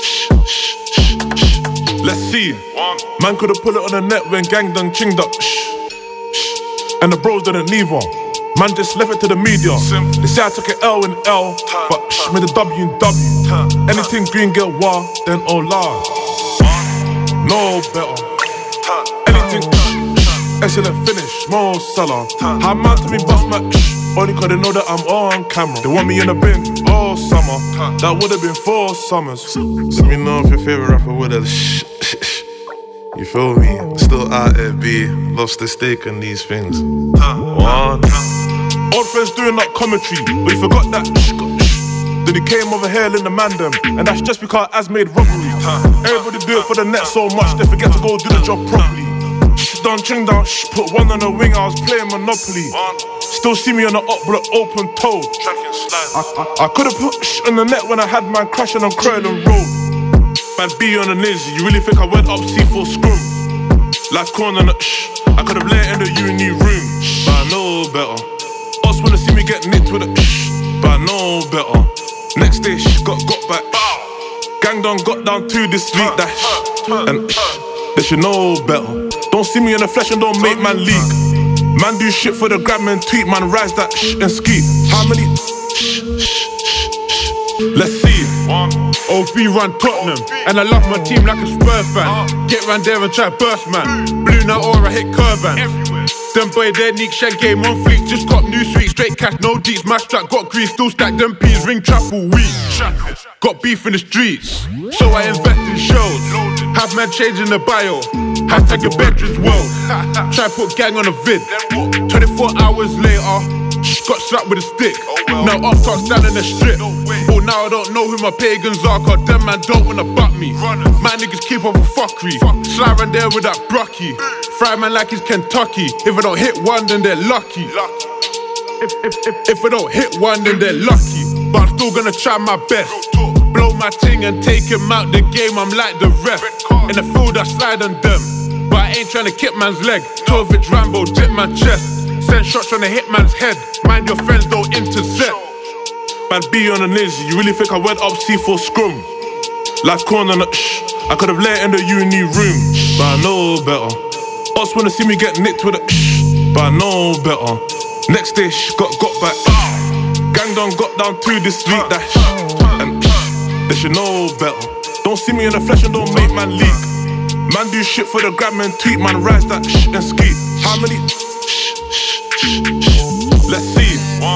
Let's see. Man could've put it on the net when gang done chinged up. And the bros didn't neither. Man just left it to the media. They say I took an L in L, but made a W in W. Anything green get war, then oh lord. No better. Anything excellent finish, more seller. How man to me bust my only cause they know that I'm on camera. They want me in the bin all summer. That would've been 4 summers. Let me know if your favorite rapper would've you feel me? Still out there, B. Lost the stake in these things. One. Old friends doing that commentary, but you forgot that then he came over here in the mandem, and that's just because Az made robbery. Everybody do it for the net so much, they forget to go do the job properly. Done ching down, put one on the wing, I was playing Monopoly. Still see me on the up block, open toe. I could've put on the net when I had man crashing on Croydon Road. Man B on the niz, you really think I went up C4 scrum? Life corner on the I could've let in the uni room, but I know better. Us wanna see me get nicked with a but I know better. Next day got back. Gang done got down to this week, that and they should know better. Don't see me in the flesh and don't make man leak. Man do shit for the gram and tweet, man rise that and ski. How many? Let's see. OB run Tottenham, and I love my team like a Spurs fan. Get round there and try burst man. Blue now or I hit Curvan. Them boy there, Nick Shed game on fleek. Just cop new sweet, straight cash, no deets. My strap got grease, still stack them peas. Ring trap all week. Got beef in the streets, so I invest in shows. Have man changing the bio. Hashtag your bedroom's world. Try put gang on a vid. 24 hours later, got slapped with a stick. Now off can't stand in the strip. Oh, now I don't know who my pagans are, cause them man don't wanna butt me. My niggas keep up with fuckery. Slide around there with that brocky. Fry man like it's Kentucky. If I don't hit one, then they're lucky. If I don't hit one, then they're lucky. But I'm still gonna try my best. Blow my ting and take him out the game, I'm like the ref. In the field I slide on them, but I ain't tryna kick man's leg. 12-inch Rambo, dip my chest. Send shots tryna hit man's head. Mind your friends, don't intercept. Man B on the niz, you really think I went up C4 scrum? Life corner on the I could've let in the uni room, but I know better. Us wanna see me get nicked with a but I know better. Next day got back. Gang done got down to this week, that and they should know better. Don't see me in the flesh and don't make man leak. Man do shit for the gram and tweet, man rise that and ski. How many? Let's see.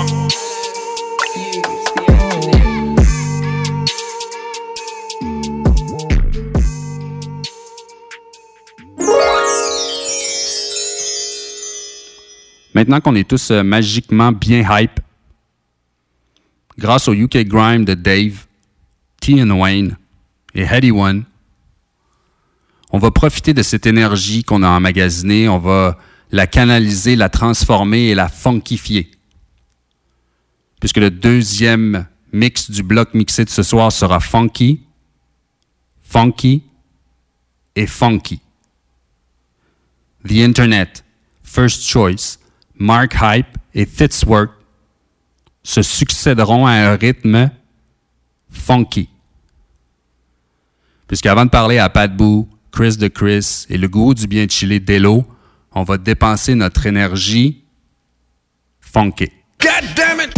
Maintenant qu'on est tous magiquement bien hype, grâce au UK Grime de Dave, T and Wayne et Heady One, on va profiter de cette énergie qu'on a emmagasinée, on va la canaliser, la transformer et la funkifier. Puisque le deuxième mix du bloc mixé de ce soir sera funky, funky et funky. The Internet, First Choice, Mark Hype et Fitzwork se succéderont à un rythme funky. Puisqu'avant de parler à Pat Boo, Chris de Chris et le goût du bien chillé d'Elo, on va dépenser notre énergie funky. God damn it!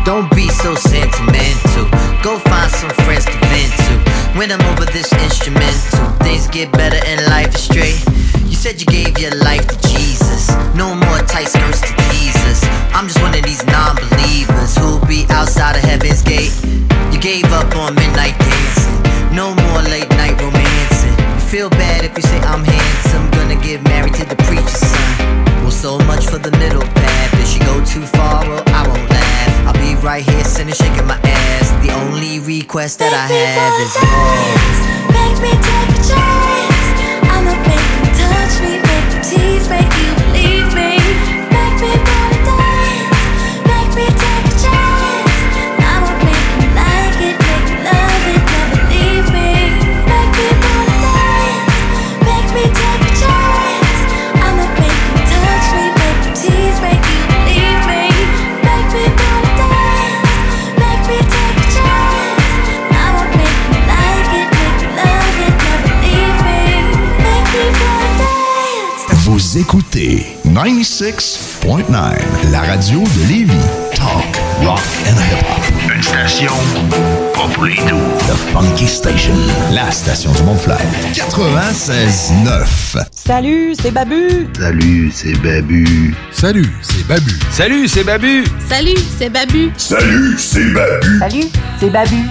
Don't be so sentimental. Go find some friends to vent to. When I'm over this instrumental, things get better and life is straight. You said you gave your life to Jesus. No more tight skirts to Jesus. I'm just one of these non-believers who'll be outside of heaven's gate. You gave up on midnight dancing. No more late night romancing. You feel bad if you say I'm handsome. Gonna get married to the preacher's son. Well, so much for the middle path. If she go too far, well, I won't laugh. I'll be right here sitting shaking my ass. The only request that I have is yours. Make me take a chance. I'ma make you touch me, make you tease, make you believe me. Make me wanna dance. Make me take a chance. I'ma make you like it, make you love it, never leave me. Make me wanna dance. Make me take a chance. I'ma make you touch me, make you tease, make you believe me. Make me wanna dance. Make me take a chance. I'ma make you like it, make you love it, never leave me. Make me wanna dance. Vous écoutez 96.9, la radio de Lévis. Talk, rock and hip-hop. Une station pas pour les doux. The Funky Station, la station du Mont-Flair. 96.9. Salut, c'est Babu. Salut, c'est Babu. Salut, c'est Babu. Salut, c'est Babu. Salut, c'est Babu. Salut, c'est Babu. Salut, c'est Babu.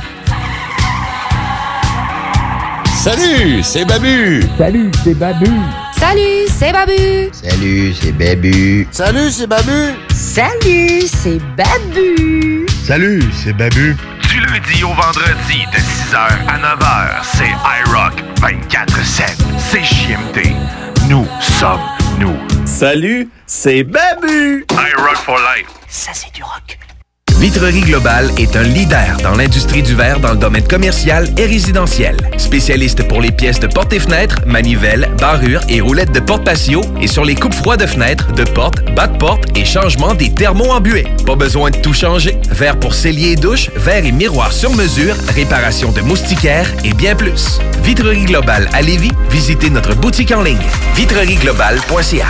Salut, c'est Babu. Salut, c'est Babu. Salut, c'est Babu. Salut, c'est Babu. Salut, c'est Babu. Salut, c'est Babu. Salut, c'est Babu. Du lundi au vendredi de 6h à 9h, c'est iRock 24/7. C'est JMD. Nous sommes nous. Salut, c'est Babu. iRock for life. Ça, c'est du rock. Vitrerie Globale est un leader dans l'industrie du verre dans le domaine commercial et résidentiel. Spécialiste pour les pièces de portes et fenêtres, manivelles, barrures et roulettes de porte patio et sur les coupes froides de fenêtres, de portes, bas de porte et changement des thermos en buée. Pas besoin de tout changer. Verre pour cellier et douche, verre et miroirs sur mesure, réparation de moustiquaires et bien plus. Vitrerie Globale à Lévis, visitez notre boutique en ligne. vitrerieglobale.ca.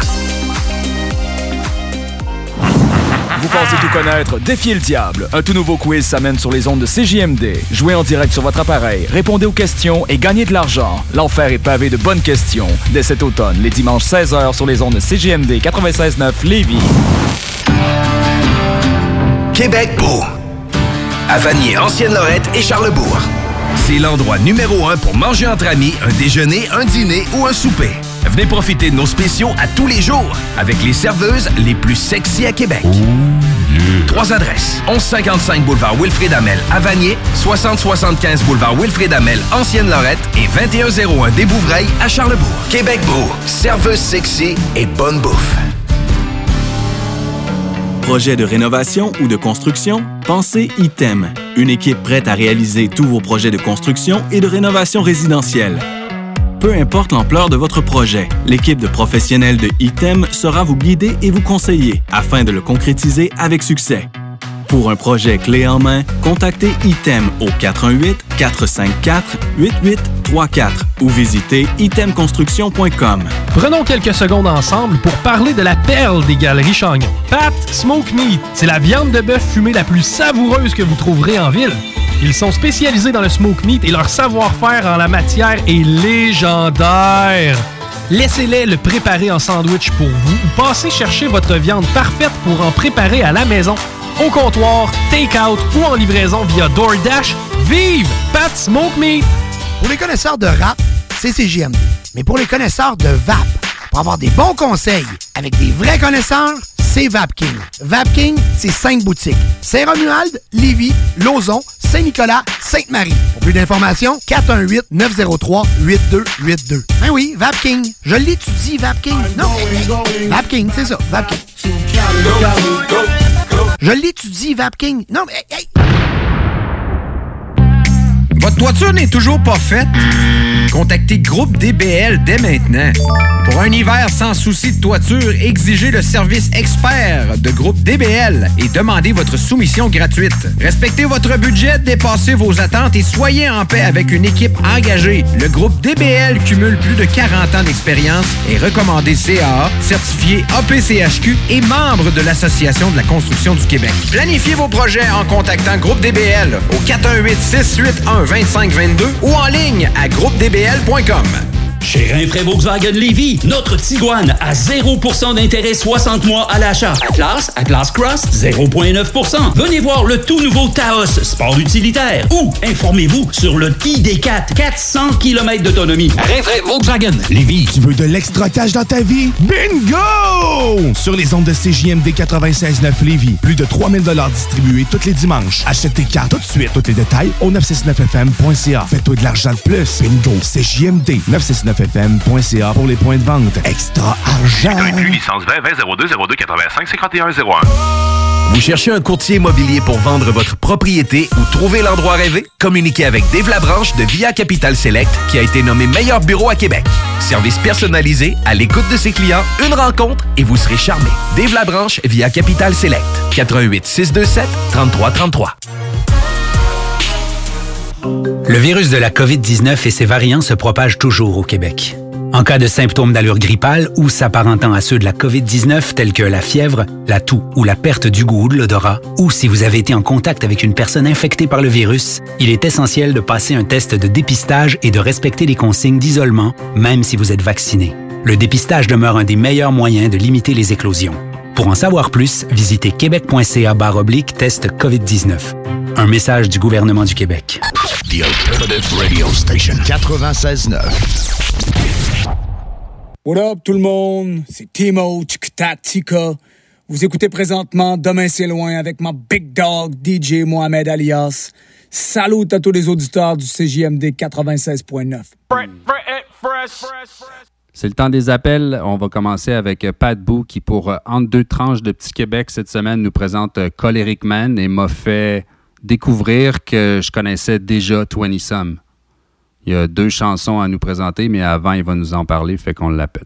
Vous pensez tout connaître? Défiez le diable. Un tout nouveau quiz s'amène sur les ondes de CJMD. Jouez en direct sur votre appareil, répondez aux questions et gagnez de l'argent. L'enfer est pavé de bonnes questions. Dès cet automne, les dimanches 16h sur les ondes de CJMD 96.9 Lévis. Québec beau. À Vanier, Ancienne-Lorette et Charlebourg. C'est l'endroit numéro 1 pour manger entre amis, un déjeuner, un dîner ou un souper. Venez profiter de nos spéciaux à tous les jours avec les serveuses les plus sexy à Québec. 3 adresses. 1155 boulevard Wilfrid Hamel à Vanier, 6075 boulevard Wilfrid Hamel, Ancienne-Lorette et 2101 des Bouvrailles à Charlebourg. Québec beau, serveuse sexy et bonne bouffe. Projet de rénovation ou de construction? Pensez ITEM. Une équipe prête à réaliser tous vos projets de construction et de rénovation résidentielle. Peu importe l'ampleur de votre projet, l'équipe de professionnels de ITEM sera vous guider et vous conseiller afin de le concrétiser avec succès. Pour un projet clé en main, contactez ITEM au 418-454-8834 ou visitez itemconstruction.com. Prenons quelques secondes ensemble pour parler de la perle des Galeries Chagnon. Pat Smoke Meat, c'est la viande de bœuf fumée la plus savoureuse que vous trouverez en ville. Ils sont spécialisés dans le smoke meat et leur savoir-faire en la matière est légendaire. Laissez-les le préparer en sandwich pour vous ou passez chercher votre viande parfaite pour en préparer à la maison, au comptoir, take-out ou en livraison via DoorDash. Vive Pat Smoke Meat! Pour les connaisseurs de rap, c'est CJMD. Mais pour les connaisseurs de vape, pour avoir des bons conseils avec des vrais connaisseurs, c'est Vapking. Vapking, c'est 5 boutiques. Saint-Romuald, Lévis, Lauson, Saint-Nicolas, Sainte-Marie. Pour plus d'informations, 418-903-8282. Ben oui, Vapking. Je l'étudie, Vapking. Non, Vapking, c'est ça, Vapking. Je l'étudie, Vapking. Non, mais... Hey. Votre toiture n'est toujours pas faite? Contactez Groupe DBL dès maintenant. Pour un hiver sans souci de toiture, exigez le service expert de Groupe DBL et demandez votre soumission gratuite. Respectez votre budget, dépassez vos attentes et soyez en paix avec une équipe engagée. Le Groupe DBL cumule plus de 40 ans d'expérience, est recommandé CAA, certifié APCHQ et membre de l'Association de la construction du Québec. Planifiez vos projets en contactant Groupe DBL au 418-681-2522 ou en ligne à groupedbl.com. Chez Rinfraie Volkswagen Lévy, notre Tiguan à 0% d'intérêt 60 mois à l'achat. Atlas Cross, 0,9%. Venez voir le tout nouveau Taos, sport utilitaire. Ou informez-vous sur le ID4, 400 km d'autonomie. Rinfraie Volkswagen Lévy. Tu veux de l'extra cash dans ta vie? Bingo! Sur les ondes de CJMD 96.9 Lévy, plus de 3000 $ distribués tous les dimanches. Achète tes cartes tout de suite. Tous les détails au 969fm.ca. Fais-toi de l'argent de plus. Bingo! CJMD 969fm.ca pour les points de vente. Extra argent! Inclus licence 20 20 02 02 85 51 01. Vous cherchez un courtier immobilier pour vendre votre propriété ou trouver l'endroit rêvé? Communiquez avec Dave Labranche de Via Capital Select qui a été nommé meilleur bureau à Québec. Service personnalisé, à l'écoute de ses clients, une rencontre et vous serez charmé. Dave Labranche via Capital Select. 88 627 33 33. Le virus de la COVID-19 et ses variants se propagent toujours au Québec. En cas de symptômes d'allure grippale ou s'apparentant à ceux de la COVID-19 tels que la fièvre, la toux ou la perte du goût ou de l'odorat, ou si vous avez été en contact avec une personne infectée par le virus, il est essentiel de passer un test de dépistage et de respecter les consignes d'isolement, même si vous êtes vacciné. Le dépistage demeure un des meilleurs moyens de limiter les éclosions. Pour en savoir plus, visitez québec.ca/test COVID-19. Un message du gouvernement du Québec. The Alternative Radio Station 96.9. What up tout le monde? C'est Timo Tika. Vous écoutez présentement Demain c'est loin avec ma big dog DJ Mohamed Alias. Salut à tous les auditeurs du CJMD 96.9. C'est le temps des appels. On va commencer avec Pat Boo qui, pour Entre deux tranches de Petit Québec cette semaine, nous présente Choleric Man et m'a fait découvrir que je connaissais déjà 20 Some. Il y a 2 chansons à nous présenter, mais avant, il va nous en parler, fait qu'on l'appelle.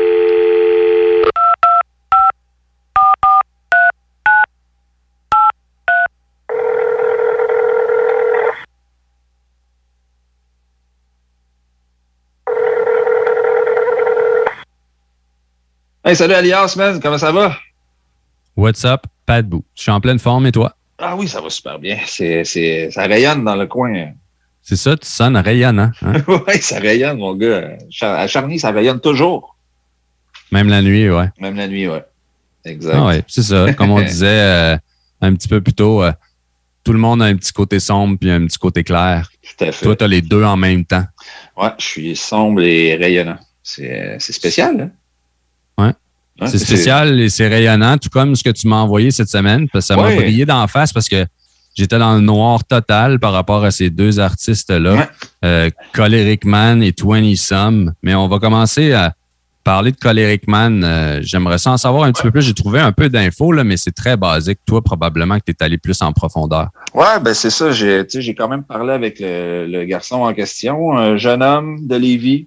Hey, salut Alias, man, comment ça va? What's up, Pat Boo? Je suis en pleine forme, et toi? Ah oui, ça va super bien. Ça rayonne dans le coin. C'est ça, tu sonnes rayonnant. Hein? Oui, ça rayonne, mon gars. À Charny, ça rayonne toujours. Même la nuit, ouais. Même la nuit, ouais. Exact. Ah ouais, c'est ça. Comme on disait un petit peu plus tôt, tout le monde a un petit côté sombre puis un petit côté clair. Tout à fait. Toi, tu as les deux en même temps. Ouais, je suis sombre et rayonnant. C'est spécial, hein? Ouais, c'est spécial et c'est rayonnant, tout comme ce que tu m'as envoyé cette semaine, parce que ça m'a brillé d'en face parce que j'étais dans le noir total par rapport à ces deux artistes-là, Choleric Man et 20 Some. Mais on va commencer à parler de Choleric Man. J'aimerais ça en savoir un petit peu plus. J'ai trouvé un peu d'infos, là, mais c'est très basique. Toi, probablement que tu es allé plus en profondeur. Ouais, ben c'est ça. J'ai quand même parlé avec le garçon en question, un jeune homme de Lévis.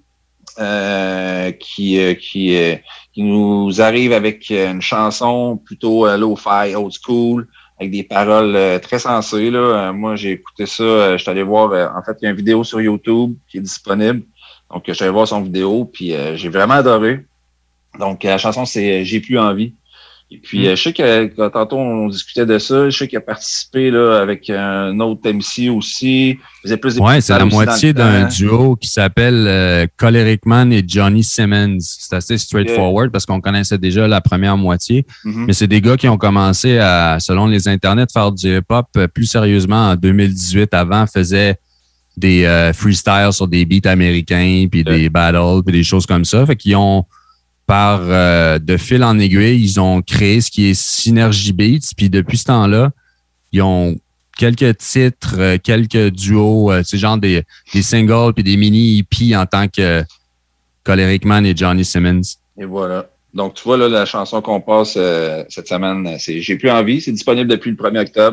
Qui nous arrive avec une chanson plutôt lo-fi, old school, avec des paroles très sensées. Là. Moi, j'ai écouté ça. Je suis allé voir, en fait, il y a une vidéo sur YouTube qui est disponible. Donc, je suis allé voir son vidéo, puis j'ai vraiment adoré. Donc, la chanson, c'est « J'ai plus envie ». Et puis, je sais que tantôt, on discutait de ça. Je sais qu'il a participé là avec un autre MC aussi. Il faisait plus des c'est la moitié d'un duo qui s'appelle Choleric Man et Johnny Simmons. C'est assez straightforward parce qu'on connaissait déjà la première moitié. Mm-hmm. Mais c'est des gars qui ont commencé à, selon les internets, faire du hip-hop plus sérieusement en 2018. Avant, faisaient des freestyles sur des beats américains, puis des battles, puis des choses comme ça. Fait qu'ils ont... Par de fil en aiguille, ils ont créé ce qui est Synergy Beats. Puis depuis ce temps-là, ils ont quelques titres, quelques duos, c'est genre des singles puis des mini EP en tant que Choleric Man et Johnny Simmons. Et voilà. Donc, tu vois, là, la chanson qu'on passe cette semaine, c'est « J'ai plus envie ». C'est disponible depuis le 1er octobre.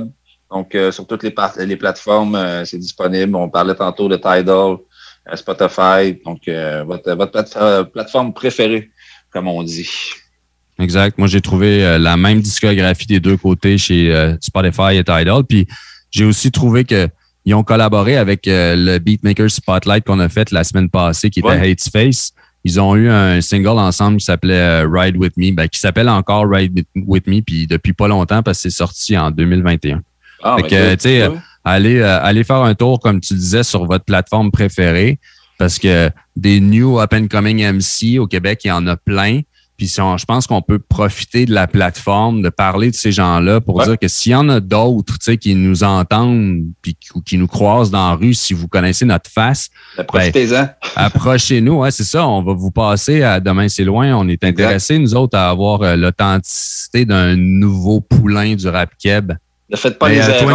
Donc, sur toutes les plateformes, c'est disponible. On parlait tantôt de Tidal, Spotify. Donc, votre plateforme préférée, comme on dit. Exact. Moi, j'ai trouvé la même discographie des deux côtés chez Spotify et Tidal. Puis, j'ai aussi trouvé qu'ils ont collaboré avec le Beatmaker Spotlight qu'on a fait la semaine passée, qui était Hate Space. Ils ont eu un single ensemble qui s'appelait Ride With Me, qui s'appelle encore Ride With Me, puis depuis pas longtemps, parce que c'est sorti en 2021. Fait que, tu sais, allez faire un tour, comme tu disais, sur votre plateforme préférée, parce que des new up-and-coming MC au Québec, il y en a plein. Puis je pense qu'on peut profiter de la plateforme, de parler de ces gens-là pour dire que s'il y en a d'autres, tu sais, qui nous entendent puis qui nous croisent dans la rue, si vous connaissez notre face, profitez-en. Approchez-nous, ouais, c'est ça. On va vous passer à Demain c'est loin. On est intéressés, nous autres, à avoir l'authenticité d'un nouveau poulain du rap keb. Ne faites pas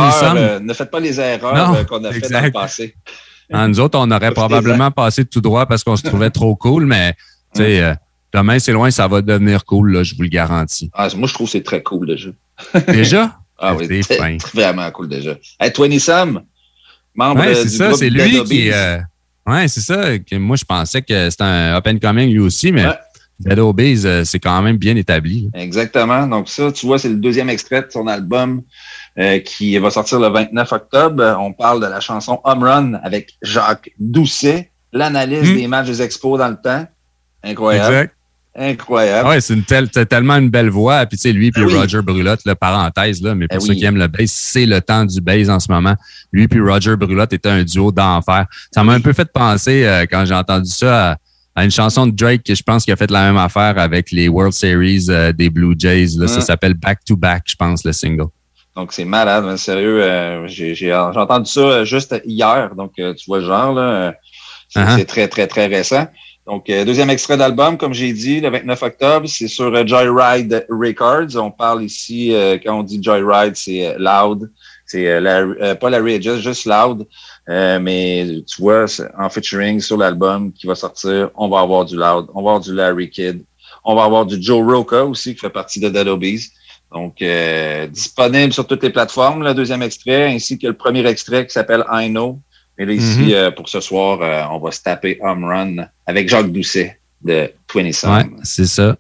les erreurs qu'on a fait dans le passé. Nous autres, on aurait probablement passé tout droit parce qu'on se trouvait trop cool, mais tu sais. Demain, c'est loin, ça va devenir cool, là, je vous le garantis. Moi, je trouve que c'est très cool déjà. Déjà? Ah oui, c'est fin. Vraiment cool déjà. Hey, 20 Some, membre c'est du ça, groupe c'est lui Dead qui Obies. c'est ça. Que moi, je pensais que c'était un up and coming lui aussi, mais Dead Obies, c'est quand même bien établi. Là. Exactement. Donc ça, tu vois, c'est le deuxième extrait de son album qui va sortir le 29 octobre. On parle de la chanson Home Run avec Jacques Doucet, l'analyse des matchs des Expos dans le temps. Incroyable. Exact. Incroyable. Ouais, c'est tellement une belle voix. Puis tu sais, lui puis Roger Brulotte, là, parenthèse, là, mais pour ceux qui aiment le bass, c'est le temps du bass en ce moment. Lui puis Roger Brulotte étaient un duo d'enfer. Ça m'a un peu fait penser, quand j'ai entendu ça, à une chanson de Drake que je pense qu'il a fait la même affaire avec les World Series des Blue Jays. Là. Ça s'appelle Back to Back, je pense, le single. Donc, c'est malade, mais sérieux. J'ai entendu ça juste hier. Donc, tu vois le genre, là. C'est très, très, très récent. Donc, deuxième extrait d'album, comme j'ai dit, le 29 octobre, c'est sur Joyride Records. On parle ici, quand on dit Joyride, c'est Loud. C'est pas Larry Edges, juste Loud. Mais tu vois, en featuring sur l'album qui va sortir, on va avoir du Loud, on va avoir du Larry Kidd, on va avoir du Joe Roca aussi, qui fait partie de Dead Obies. Donc, disponible sur toutes les plateformes, le deuxième extrait, ainsi que le premier extrait qui s'appelle I Know. Mais là, ici, pour ce soir, on va se taper Home Run avec Jacques Doucet de 20 Some. Ouais, c'est ça.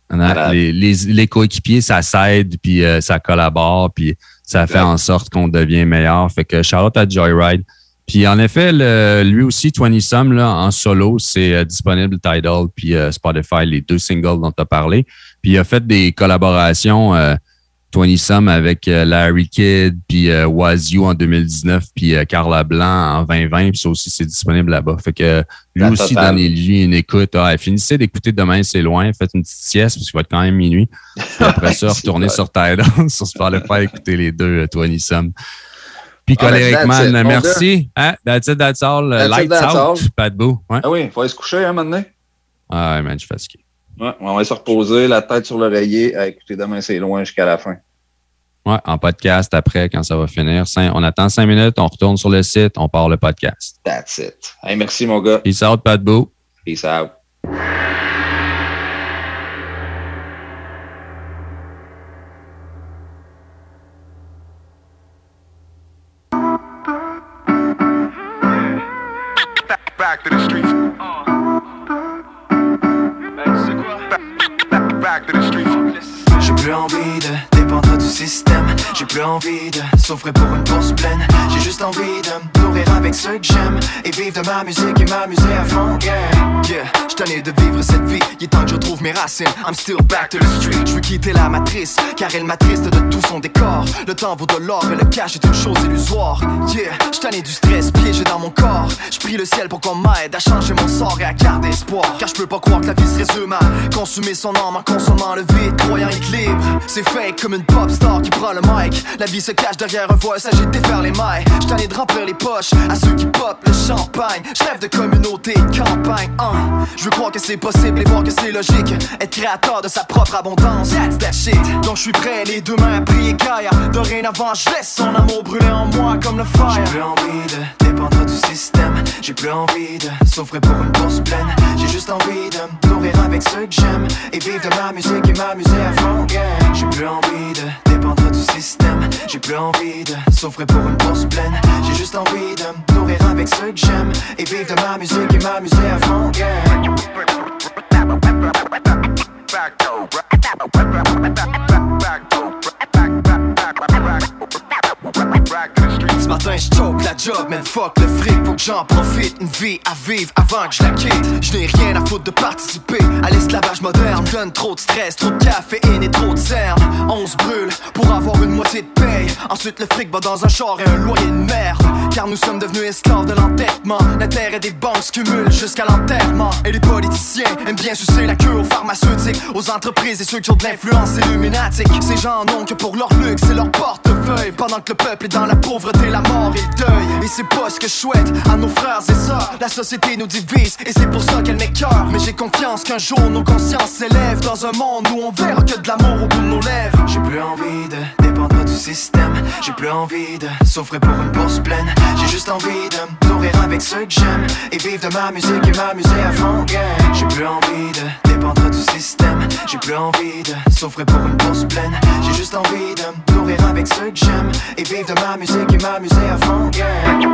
Les coéquipiers, ça s'aide, puis ça collabore, puis ça fait en sorte qu'on devient meilleur. Fait que shout out à Joyride. Puis en effet, lui aussi, 20 Some, là, en solo, c'est disponible Tidal puis Spotify, les deux singles dont tu as parlé. Puis il a fait des collaborations 20 Some avec Larry Kidd, puis Wazoo en 2019, puis Carla Blanc en 2020, puis ça aussi, c'est disponible là-bas. Fait que lui aussi, donnez-lui une écoute. Finissez d'écouter Demain, c'est loin. Faites une petite sieste, parce qu'il va être quand même minuit. Puis après ça, retournez sur Tidal, sur Spotify, écouter les deux 20 Some. Puis Coléric Man, merci. That's it, that's all. Lights out, pas de bout. Ah oui, il faut aller se coucher, maintenant. Ah ouais, man, je suis fatigué. Ouais, on va se reposer, la tête sur l'oreiller, à écouter Demain, c'est loin jusqu'à la fin. Ouais, en podcast après, quand ça va finir. On attend 5 minutes, on retourne sur le site, on part le podcast. That's it. Hey, merci, mon gars. Peace out, pas de bout. Peace out. Back to the streets. Back to the streets. J'ai plus envie de dépendre du système. J'ai plus envie de souffrir pour une bourse pleine. J'ai juste envie de me nourrir avec ceux que j'aime et vivre de ma musique et m'amuser à fond, yeah. J'suis tanné de vivre cette vie, il est temps que je retrouve mes racines. I'm still back to the street, j'veux quitter la matrice, car elle m'attriste de tout son décor. Le temps vaut de l'or et le cash est une chose illusoire, yeah. J'suis tanné du stress piégé dans mon corps. J'prie le ciel pour qu'on m'aide à changer mon sort et à garder espoir. Car j'peux pas croire que la vie se résume à consumer son âme en consommant le vide, croyant être libre. C'est fake comme une pop star qui prend le mic. La vie se cache derrière un voile, s'agit de défaire les mailles. J'tanné de remplir les poches à ceux qui pop le champagne. J'rêve de communauté et de campagne, Je veux croire que c'est possible et voir que c'est logique. Être créateur de sa propre abondance, that's that shit. Donc j'suis prêt les deux mains à prier Gaïa. Dorénavant j'laisse son amour brûler en moi comme le fire. J'ai plus envie de dépendre du système. J'ai plus envie de souffrir pour une bourse pleine. J'ai juste envie de me nourrir avec ceux que j'aime et vivre de ma musique et m'amuser à fond, yeah. J'ai plus envie de dépendre du système. J'ai plus envie de souffrir pour une bourse pleine. J'ai juste envie de me nourrir avec ceux que j'aime et vivre de ma musique et m'amuser à fond, yeah. Ce matin j'choke la job, mais fuck le fric, faut que j'en profite. Une vie à vivre avant que je la quitte. Je n'ai rien à foutre de participer à l'esclavage moderne. Donne trop de stress, trop de caféine et trop de cernes. On se brûle pour avoir une moitié de paye. Ensuite le fric va dans un char et un loyer de merde. Car nous sommes devenus esclaves de l'entêtement. L'intérêt des banques se cumule jusqu'à l'enterrement. Et les politiciens aiment bien sucer la queue aux pharmaceutiques, aux entreprises et ceux qui ont de l'influence illuminatique. Ces gens n'ont que pour leur luxe et leur portefeuille, pendant que le peuple est dans la pauvreté, la mort et le deuil. Et c'est pas ce que je souhaite à nos frères et sœurs. La société nous divise et c'est pour ça qu'elle m'écœure. Mais j'ai confiance qu'un jour nos consciences s'élèvent dans un monde où on verra que de l'amour au bout de nos lèvres. J'ai plus envie de dépendre du système. J'ai plus envie de souffrir pour une bourse pleine. J'ai juste envie de me nourrir avec ceux que j'aime et vivre de ma musique et m'amuser à fond, yeah. J'ai plus envie de dépendre du système. J'ai plus envie de souffrir pour une bourse pleine. J'ai juste envie de me nourrir avec ceux que j'aime et vivre de ma musique et m'amuser à fond, yeah.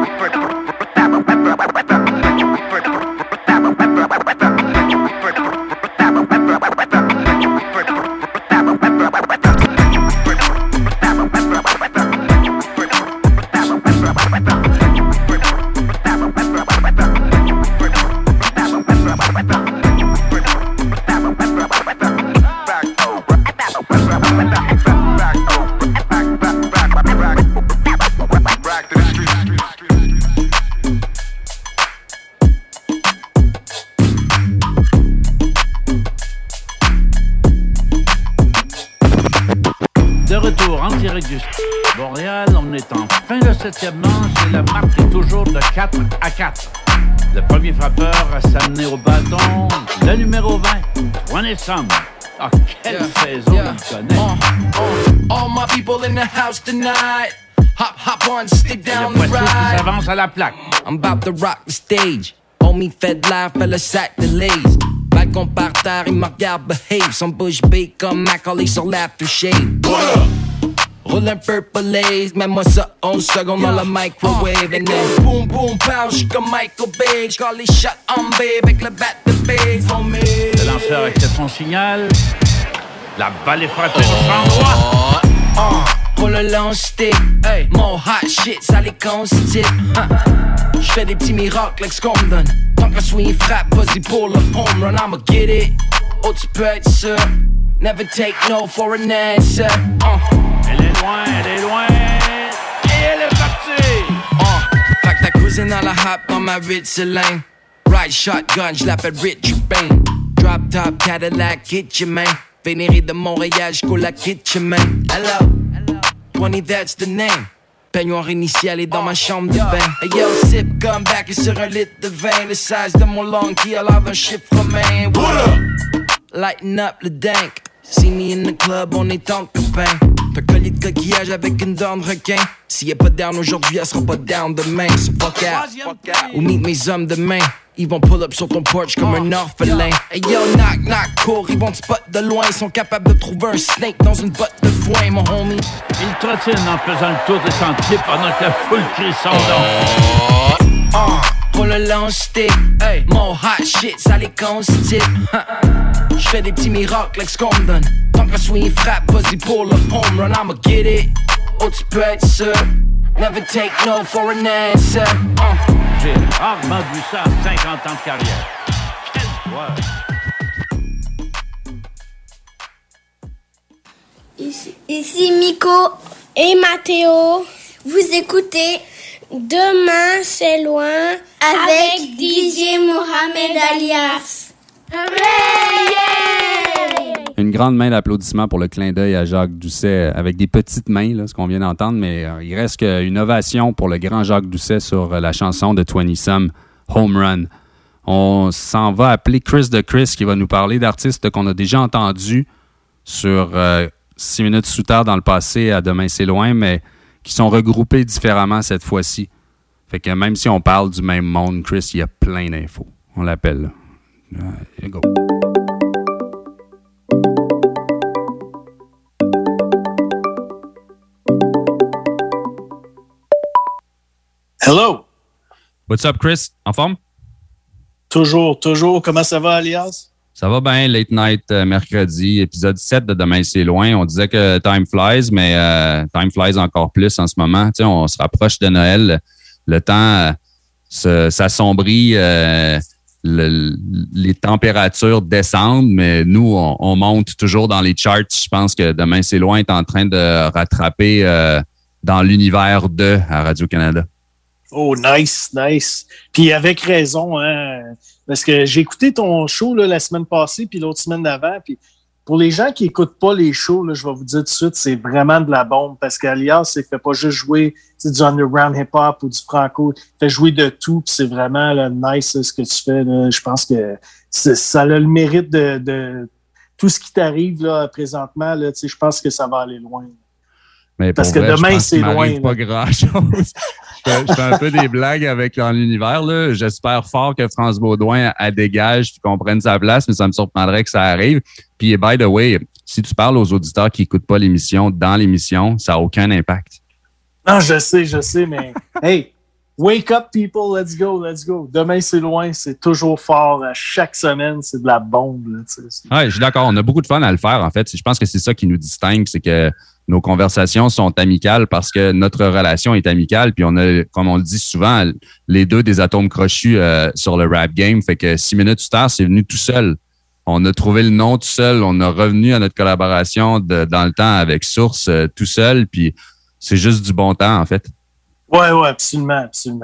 De retour en direct du Montréal, on est en fin de 7e manche et la marque est toujours de 4-4. Le premier frappeur à s'amener au bâton, le numéro 20, 20 Some. Ah, quelle saison il connaît. All my people in the house tonight. Hop on, stick down the ride. Qui s'avance à la plaque. I'm about to rock the stage. Homie fait de l'air, fait le sac de lace. Balcon par terre, il me regarde behave. Son bouche bée comme Macaulay sur l'aftershave. Roule un purple lace, mets-moi ça 11 secondes dans le microwave. And then boom boom pow, j'suis comme Michael Bay. J'call les shots en babe avec le bat de base on me. Le lanceur accepte son signal. La balle est frappée au champ droit. Roule un long stick, hey, mon hot shit, ça les constipe. J'fais des petits miracles avec ce qu'on me donne. Tant que swing frappe, vas-y pour le home run, I'ma get it. Oh, tu peux être sûr. Never take no for an answer. Elle est loin, elle est loin. Et elle est partie. Fait que ta cousine à la hop dans ma Ritz-Lane. Ride shotgun, j'l'appelle Richard Payne. Drop top Cadillac, get your man. Vénéré de Montréal, j'coule la kitchen man. Hello, 20, that's the name. Peignoir initial est dans ma chambre de bain. Hey yo, sip, come back et sur un litre de vin. Le size de mon long qui a l'air d'un chiffre romain. What up? Lighten up le dank. See me in the club, on est en copains. Un collier de coquillage avec une dent de requin. S'il y a pas down aujourd'hui, elle sera pas down demain. So fuck out, ou meet mes hommes demain. Ils vont pull up sur ton porch comme un orphelin. Hey yo, knock, knock, cours, ils vont te spot de loin. Ils sont capables de trouver un snake dans une botte de foin, mon homie. Il trottine en faisant le tour de sentier pendant que la foule crie son nom. Roule un long stick, hey, mon hot shit, ça les constipe. J'fais des petits miracles avec ce qu'on me donne. Tant que swing frappe, vas-y pour le home run, I'ma get it. Oh, tu peux être sûr. Never take no for an answer. J'ai rarement vu ça en 50 ans de carrière. Quel joueur! Ici Miko et Mathéo. Vous écoutez Demain c'est loin avec DJ Mohamed Alias. Une grande main d'applaudissements pour le clin d'œil à Jacques Doucet avec des petites mains, là, ce qu'on vient d'entendre, mais il reste qu'une ovation pour le grand Jacques Doucet sur la chanson de 20 Some, Home Run. On s'en va appeler Chris de Chris qui va nous parler d'artistes qu'on a déjà entendus sur 6 minutes sous terre dans le passé à Demain c'est loin, mais qui sont regroupés différemment cette fois-ci. Fait que même si on parle du même monde, Chris, il y a plein d'infos. On l'appelle, là. Go. Hello! What's up, Chris? En forme? Toujours. Comment ça va, Alias? Ça va bien, Late Night mercredi, épisode 7 de Demain c'est loin. On disait que time flies, mais time flies encore plus en ce moment. Tu sais, on se rapproche de Noël. Le temps s'assombrit, les températures descendent, mais nous, on monte toujours dans les charts. Je pense que Demain c'est loin est en train de rattraper dans l'univers à Radio-Canada. Oh, nice. Puis avec raison, hein, parce que j'ai écouté ton show là, la semaine passée puis l'autre semaine d'avant. Puis pour les gens qui n'écoutent pas les shows, là, je vais vous dire tout de suite, c'est vraiment de la bombe parce qu'Alias, il ne fait pas juste jouer du underground hip-hop ou du franco. Il fait jouer de tout. Puis c'est vraiment là, nice là, ce que tu fais. Là. Je pense que ça a le mérite de tout ce qui t'arrive là, présentement. Là, je pense que ça va aller loin. Mais parce que vrai, demain, c'est loin. Pas grand-chose. Je fais un peu des blagues avec dans l'univers. Là. J'espère fort que France Baudouin elle dégage et qu'on prenne sa place, mais ça me surprendrait que ça arrive. Puis, by the way, si tu parles aux auditeurs qui n'écoutent pas l'émission, dans l'émission, ça n'a aucun impact. Non, je sais, mais hey, wake up, people, let's go. Demain, c'est loin, c'est toujours fort. À chaque semaine, c'est de la bombe. Là, ouais, je suis d'accord. On a beaucoup de fun à le faire, en fait. Je pense que c'est ça qui nous distingue, c'est que nos conversations sont amicales parce que notre relation est amicale. Puis on a, comme on le dit souvent, les deux des atomes crochus sur le rap game. Fait que 6 minutes plus tard, c'est venu tout seul. On a trouvé le nom tout seul. On a revenu à notre collaboration dans le temps avec Source tout seul. Puis c'est juste du bon temps, en fait. Ouais, absolument.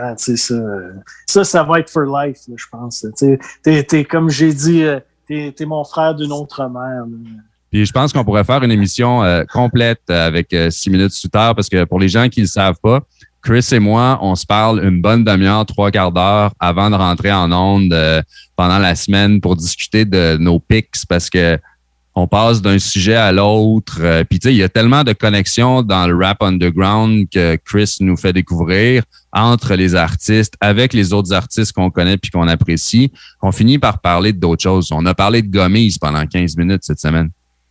Ça va être for life, là, je pense. T'es comme j'ai dit, t'es mon frère d'une autre mère. Là. Puis je pense qu'on pourrait faire une émission complète avec 6 minutes sous terre parce que pour les gens qui ne le savent pas, Chris et moi, on se parle une bonne demi-heure, 3/4 d'heure avant de rentrer en onde pendant la semaine pour discuter de nos picks parce que on passe d'un sujet à l'autre. Puis tu sais, il y a tellement de connexions dans le rap underground que Chris nous fait découvrir entre les artistes, avec les autres artistes qu'on connaît puis qu'on apprécie, qu'on finit par parler d'autres choses. On a parlé de Gommise pendant 15 minutes cette semaine.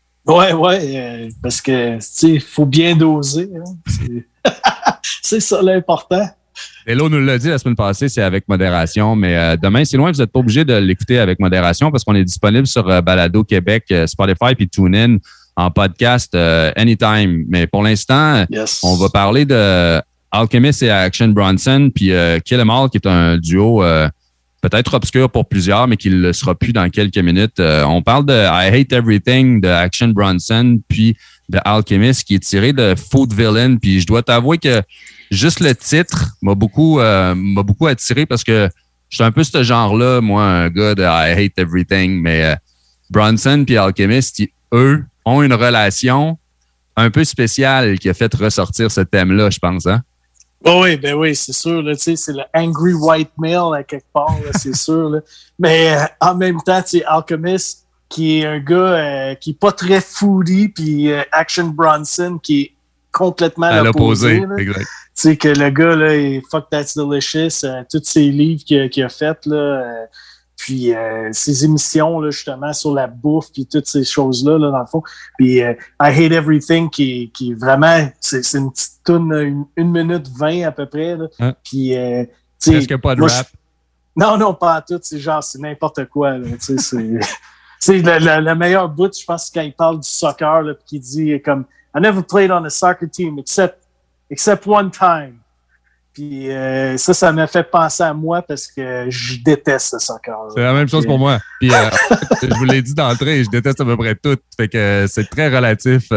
Ouais, parce que, tu sais, il faut bien doser. Hein. C'est ça l'important. Hello nous l'a dit la semaine passée, c'est avec modération, mais demain, c'est loin, vous n'êtes pas obligé de l'écouter avec modération parce qu'on est disponible sur Balado Québec, Spotify puis TuneIn en podcast anytime. Mais pour l'instant, on va parler de Alchemist et Action Bronson puis Kill 'Em All, qui est un duo peut-être obscur pour plusieurs, mais qui ne le sera plus dans quelques minutes. On parle de I Hate Everything de Action Bronson, puis de Alchemist, qui est tiré de Food Villain. Puis je dois t'avouer que juste le titre m'a beaucoup attiré parce que je suis un peu ce genre-là, moi, un gars de I Hate Everything. Mais Bronson puis Alchemist, eux, ont une relation un peu spéciale qui a fait ressortir ce thème-là, je pense, hein? Oh oui, c'est sûr. Là, c'est le angry white male à quelque part, là, c'est sûr. Là. Mais en même temps, Alchemist, qui est un gars qui n'est pas très foodie, puis Action Bronson, qui est complètement à l'opposé. Exact. Tu sais, que le gars, là, il Fuck That's Delicious, tous ses livres qu'il a fait, là, puis ses émissions, là, justement, sur la bouffe, puis toutes ces choses-là, là, dans le fond. Puis I Hate Everything, qui est vraiment, c'est une petite toune, 1 minute 20 à peu près. Là. Hein? Puis, tu sais. Presque pas de rap. Non, pas à tout. C'est genre, c'est n'importe quoi, là. Tu sais, c'est le meilleur bout, je pense, quand il parle du soccer, là, puis qu'il dit comme, I never played on a soccer team except one time. Puis ça m'a fait penser à moi parce que je déteste le soccer. C'est la même chose pour moi. Puis je vous l'ai dit d'entrée, je déteste à peu près tout. Fait que c'est très relatif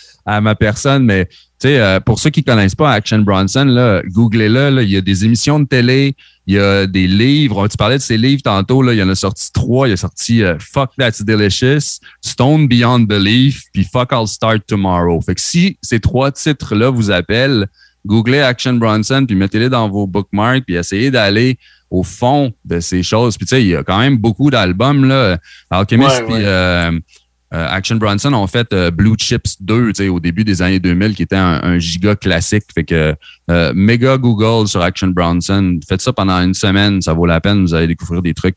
à ma personne. Mais tu sais, pour ceux qui connaissent pas Action Bronson, là, googlez-le. Là, il y a des émissions de télé, il y a des livres. Tu parlais de ces livres tantôt. Là, il y en a sorti 3. Il y a sorti Fuck That's Delicious, Stone Beyond Belief, puis Fuck I'll Start Tomorrow. Fait que si ces 3 titres-là vous appellent, googlez Action Bronson, puis mettez-les dans vos bookmarks, puis essayez d'aller au fond de ces choses. Puis tu sais, il y a quand même beaucoup d'albums, là. Alchemist puis Action Bronson ont fait Blue Chips 2, tu sais, au début des années 2000, qui était un giga classique. Fait que méga Google sur Action Bronson. Faites ça pendant 1 semaine, ça vaut la peine, vous allez découvrir des trucs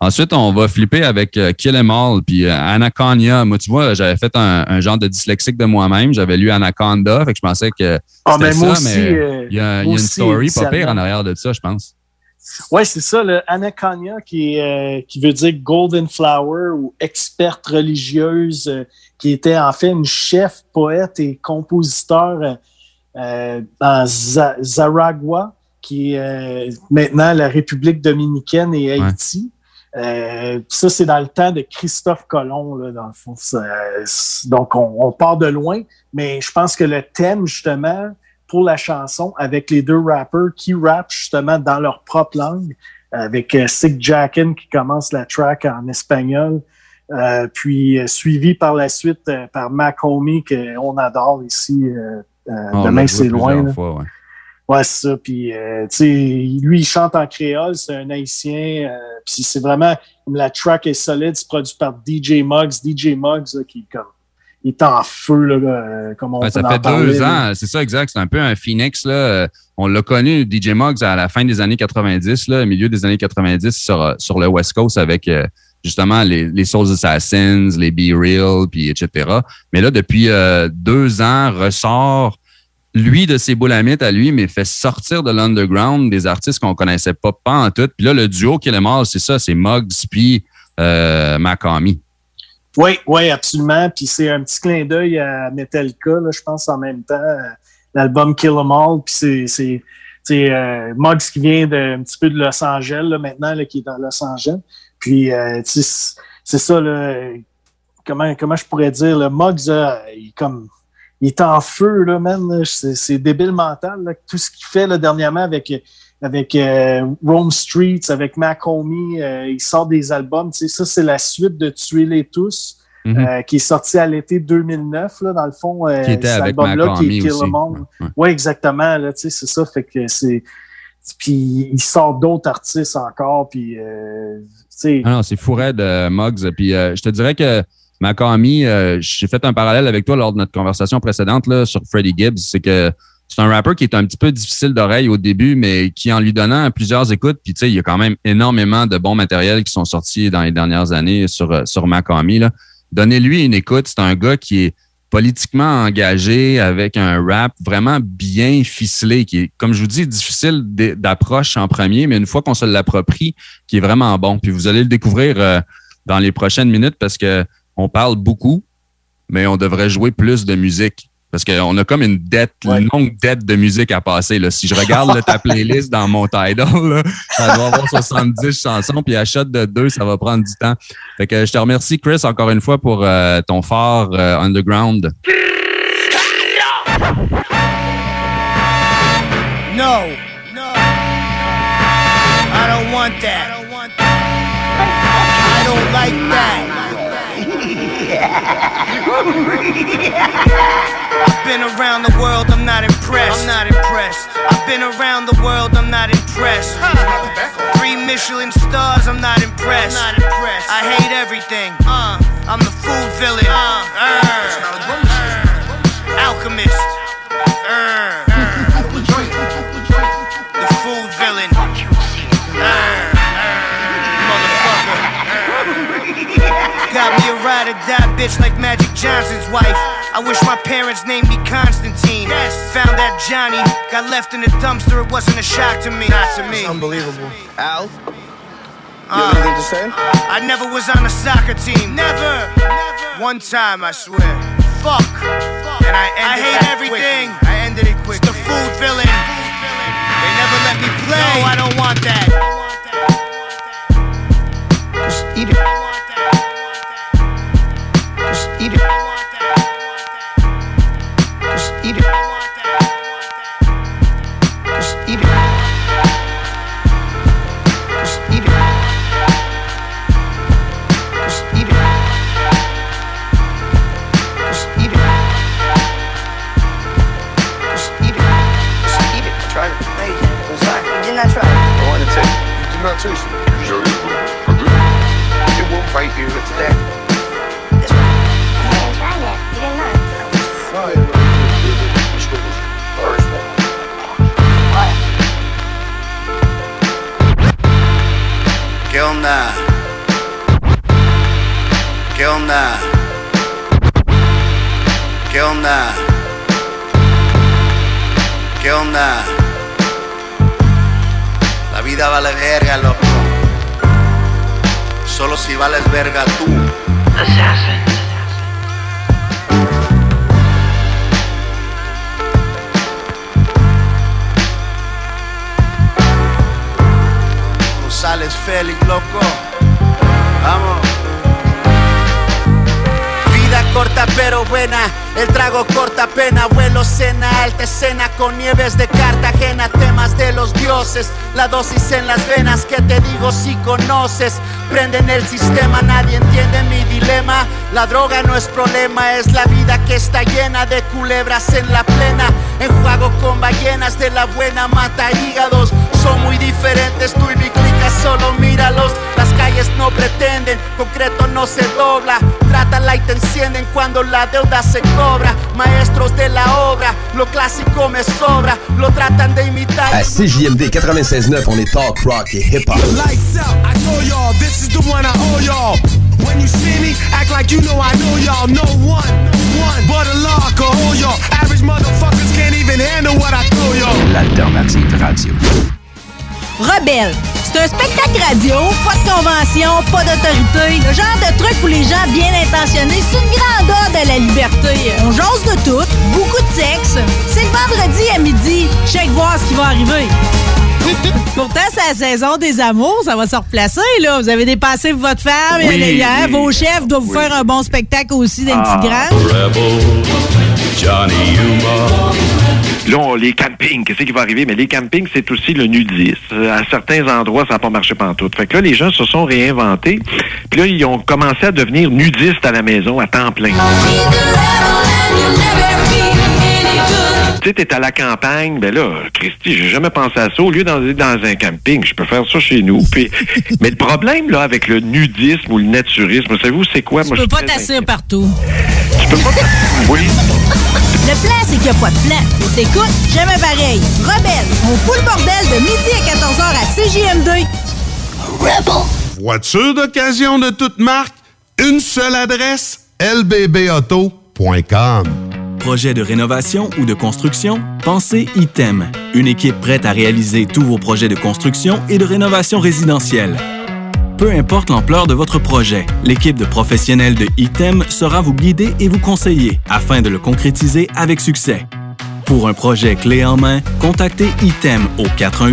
Ensuite, on va flipper avec Kill 'Em All, puis Anaconda. Moi, tu vois, j'avais fait un genre de dyslexique de moi-même. J'avais lu Anaconda, fait que je pensais que c'était ça, mais il y a une story pas pire en arrière de ça, je pense. Oui, c'est ça, le Anaconda qui veut dire Golden Flower ou experte religieuse, qui était en fait une chef, poète et compositeur dans Zaragua, qui est maintenant la République dominicaine et Haïti. Ça, c'est dans le temps de Christophe Colomb, là, dans le fond. Donc, on part de loin, mais je pense que le thème, justement, pour la chanson, avec les deux rappers qui rappent justement dans leur propre langue, avec Sick Jackin qui commence la track en espagnol, puis suivi par la suite par Mac Homie, qu'on adore ici. Demain, c'est loin. Fois, ouais. Ouais, c'est ça. Puis, tu sais, lui, il chante en créole, c'est un Haïtien. Puis c'est vraiment, la track est solide, c'est produit par DJ Muggs. DJ Muggs, là, qui est comme, il est en feu, là, comme on peut en parler. Ça fait 2 ans, c'est ça, exact. C'est un peu un Phoenix, là. On l'a connu, DJ Muggs, à la fin des années 90, là, au milieu des années 90, sur le West Coast avec, justement, les Soul Assassins, les Be Real, puis etc. Mais là, depuis 2 ans, ressort lui de ses boulamites à lui, mais fait sortir de l'underground des artistes qu'on connaissait pas en tout. Puis là, le duo Kill 'Em All, c'est ça, c'est Muggs puis Mac Homie. Oui, absolument. Puis c'est un petit clin d'œil à Metallica, là, je pense, en même temps. L'album Kill 'Em All, puis c'est Muggs qui vient un petit peu de Los Angeles, là, maintenant, là, qui est dans Los Angeles. Puis, c'est ça, là, comment je pourrais dire, le Muggs, il est en feu, là, man. C'est débile mental, là. Tout ce qu'il fait, là, dernièrement, avec Rome Streets, avec Mac Homie, il sort des albums. Tu sais, ça, c'est la suite de Tuez-les tous, qui est sorti à l'été 2009, là, dans le fond. Qui était avec Mac Homie aussi. Oui, exactement, là, tu sais, c'est ça. Fait que c'est... Puis il sort d'autres artistes encore, puis... tu sais... Ah non, c'est fou raide, Muggs. Puis je te dirais que Mac Homie, j'ai fait un parallèle avec toi lors de notre conversation précédente là, sur Freddie Gibbs. C'est que c'est un rappeur qui est un petit peu difficile d'oreille au début, mais qui, en lui donnant plusieurs écoutes, puis tu sais, il y a quand même énormément de bons matériels qui sont sortis dans les dernières années sur Mac Homie, là. Donnez-lui une écoute. C'est un gars qui est politiquement engagé avec un rap vraiment bien ficelé, qui est, comme je vous dis, difficile d'approche en premier, mais une fois qu'on se l'approprie, qui est vraiment bon. Puis vous allez le découvrir dans les prochaines minutes parce que on parle beaucoup, mais on devrait jouer plus de musique. Parce qu'on a comme une longue dette de musique à passer. Là. Si je regarde ta playlist dans mon Tidal, là, ça doit avoir 70 chansons, puis à shot de 2, ça va prendre du temps. Fait que je te remercie, Chris, encore une fois pour ton phare underground. No. I don't want that. I don't like that. I've been around the world, I'm not impressed. I've been around the world, I'm not impressed. 3 Michelin stars, I'm not impressed. I hate everything. I'm the food villain. Alchemist. The food villain. Got me a ride or die bitch like Magic Johnson's wife. I wish my parents named me Constantine. Found that Johnny got left in the dumpster. It wasn't a shock to me. Not to me. It's unbelievable. Al? You have anything to say? I never was on a soccer team. Never. One time, I swear. Fuck. And I hate everything. I ended it quick. It's the food villain. They never let me play. No, I don't want that. Just eat it. Just eat it. Just eat it. Just eat it. Just eat it. Just eat it. Just eat it. Just eat it. Just eat it. I tried it. No, you didn't. I'm sorry. You did not try it. I wanted to taste it. You did not taste it. You sure you did? I did. It won't bite you. It's that. This one. You didn't try that. You did not. Fine. This one was first one. ¿Qué onda? ¿Qué onda? ¿Qué onda? ¿Qué onda? La vida vale verga, loco. Solo si vales verga tú. Assassin. González Félix, loco. Vamos. Vida corta pero buena, el trago corta pena. Vuelo cena, alta escena con nieves de Cartagena. Temas de los dioses, la dosis en las venas. Que te digo si conoces, prenden el sistema. Nadie entiende mi dilema. La droga no es problema, es la vida que está llena de culebras en la plena. Enjuago con ballenas de la buena, mata hígados. Son muy diferentes, tú y mi clica, solo míralos. Las calles no pretenden, concreto no se dobla. Trátala y te encienden cuando la deuda se cobra. Maestros de la obra, lo clásico me sobra. Lo tratan de imitar. À CJMD 96.9, on est talk, rock et hip-hop. Lights out, I told y'all, this is the one I owe y'all. When you see me, act like you know I know y'all. No one but a law can hold y'all. Average motherfuckers can't even handle what I throw y'all. L'alternative radio. Rebelle, c'est un spectacle radio, pas de convention, pas d'autorité. Le genre de truc pour les gens bien intentionnés, c'est une grandeur de la liberté. On jase de tout, beaucoup de sexe. C'est le vendredi à midi. Check voir ce qui va arriver. Pourtant, c'est la saison des amours, ça va se replacer, là. Vous avez dépassé votre femme, hier. Vos chefs doivent vous faire un bon spectacle aussi dans une petite grange. Johnny Humor. Là, les campings, qu'est-ce qui va arriver? Mais les campings, c'est aussi le nudisme. À certains endroits, ça n'a pas marché pantoute. Fait que là, les gens se sont réinventés. Puis là, ils ont commencé à devenir nudistes à la maison à temps plein. Tu sais, t'es à la campagne, ben là, Christy, j'ai jamais pensé à ça. Au lieu d'aller dans un camping, je peux faire ça chez nous. Puis, mais le problème, là, avec le nudisme ou le naturisme, savez-vous, c'est quoi? Tu peux pas t'asseoir partout. Tu peux pas Oui. Le plan, c'est qu'il n'y a pas de plan. T'écoutes, jamais pareil. Rebelle, on fout le bordel de midi à 14h à CJMD. Rebel. Voiture d'occasion de toute marque, une seule adresse, lbbauto.com. Projet de rénovation ou de construction? Pensez ITEM. Une équipe prête à réaliser tous vos projets de construction et de rénovation résidentielle. Peu importe l'ampleur de votre projet, l'équipe de professionnels de ITEM sera vous guider et vous conseiller afin de le concrétiser avec succès. Pour un projet clé en main, contactez ITEM au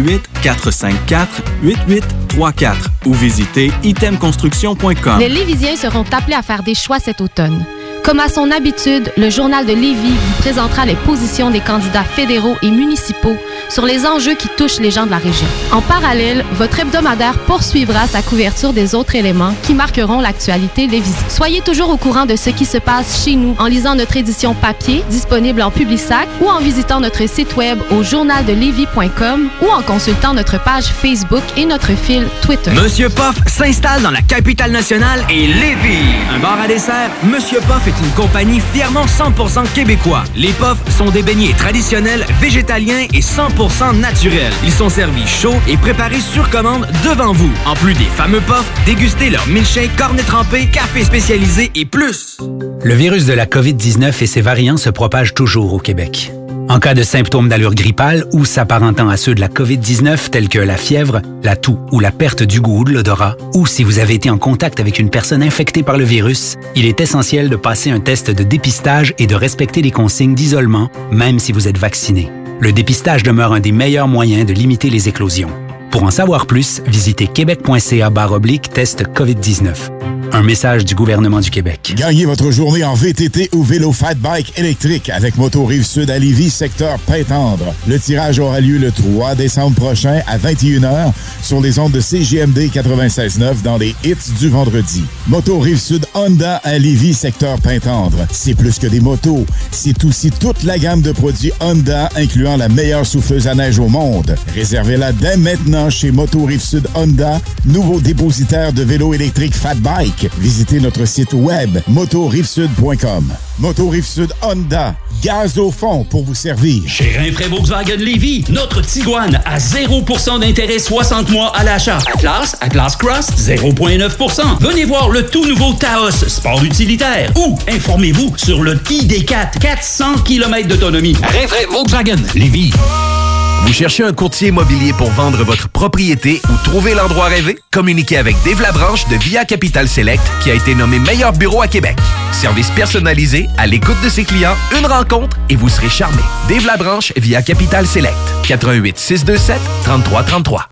418-454-8834 ou visitez itemconstruction.com. Les Lévisiens seront appelés à faire des choix cet automne. Comme à son habitude, le Journal de Lévis vous présentera les positions des candidats fédéraux et municipaux sur les enjeux qui touchent les gens de la région. En parallèle, votre hebdomadaire poursuivra sa couverture des autres éléments qui marqueront l'actualité lévisienne. Soyez toujours au courant de ce qui se passe chez nous en lisant notre édition papier, disponible en Publisac, ou en visitant notre site web au journaldelévis.com ou en consultant notre page Facebook et notre fil Twitter. Monsieur Poff s'installe dans la capitale nationale et Lévis. Un bar à dessert, Monsieur Poff est une compagnie fièrement 100% québécois. Les Poffs sont des beignets traditionnels, végétaliens et 100% naturels. Ils sont servis chauds et préparés sur commande devant vous. En plus des fameux Poffs, dégustez leur milkshake, cornet trempé, café spécialisé et plus. Le virus de la COVID-19 et ses variants se propagent toujours au Québec. En cas de symptômes d'allure grippale ou s'apparentant à ceux de la COVID-19 tels que la fièvre, la toux ou la perte du goût ou de l'odorat, ou si vous avez été en contact avec une personne infectée par le virus, il est essentiel de passer un test de dépistage et de respecter les consignes d'isolement, même si vous êtes vacciné. Le dépistage demeure un des meilleurs moyens de limiter les éclosions. Pour en savoir plus, visitez québec.ca/test COVID-19. Un message du gouvernement du Québec. Gagnez votre journée en VTT ou vélo fat bike électrique avec Moto Rive-Sud à Lévis, secteur Pintendre. Le tirage aura lieu le 3 décembre prochain à 21h sur les ondes de CJMD 96.9 dans les hits du vendredi. Moto Rive-Sud Honda à Lévis, secteur Pintendre. C'est plus que des motos, c'est aussi toute la gamme de produits Honda incluant la meilleure souffleuse à neige au monde. Réservez-la dès maintenant chez Moto Rive-Sud Honda, nouveau dépositaire de vélos électriques fat bike. Visitez notre site web motorivesud.com. Moto Rive-Sud Honda, Gaz au fond pour vous servir. Chez Rinfraie Volkswagen Lévy, notre Tiguan à 0% d'intérêt 60 mois à l'achat. Atlas Cross, 0,9%. Venez voir le tout nouveau Taos, sport utilitaire. Ou informez-vous sur le ID4, 400 km d'autonomie. Rinfraie Volkswagen Lévy. Vous cherchez un courtier immobilier pour vendre votre propriété ou trouver l'endroit rêvé? Communiquez avec Dave Labranche de Via Capital Select qui a été nommé meilleur bureau à Québec. Service personnalisé, à l'écoute de ses clients, une rencontre et vous serez charmé. Dave Labranche via Capital Select. 88 627 3333.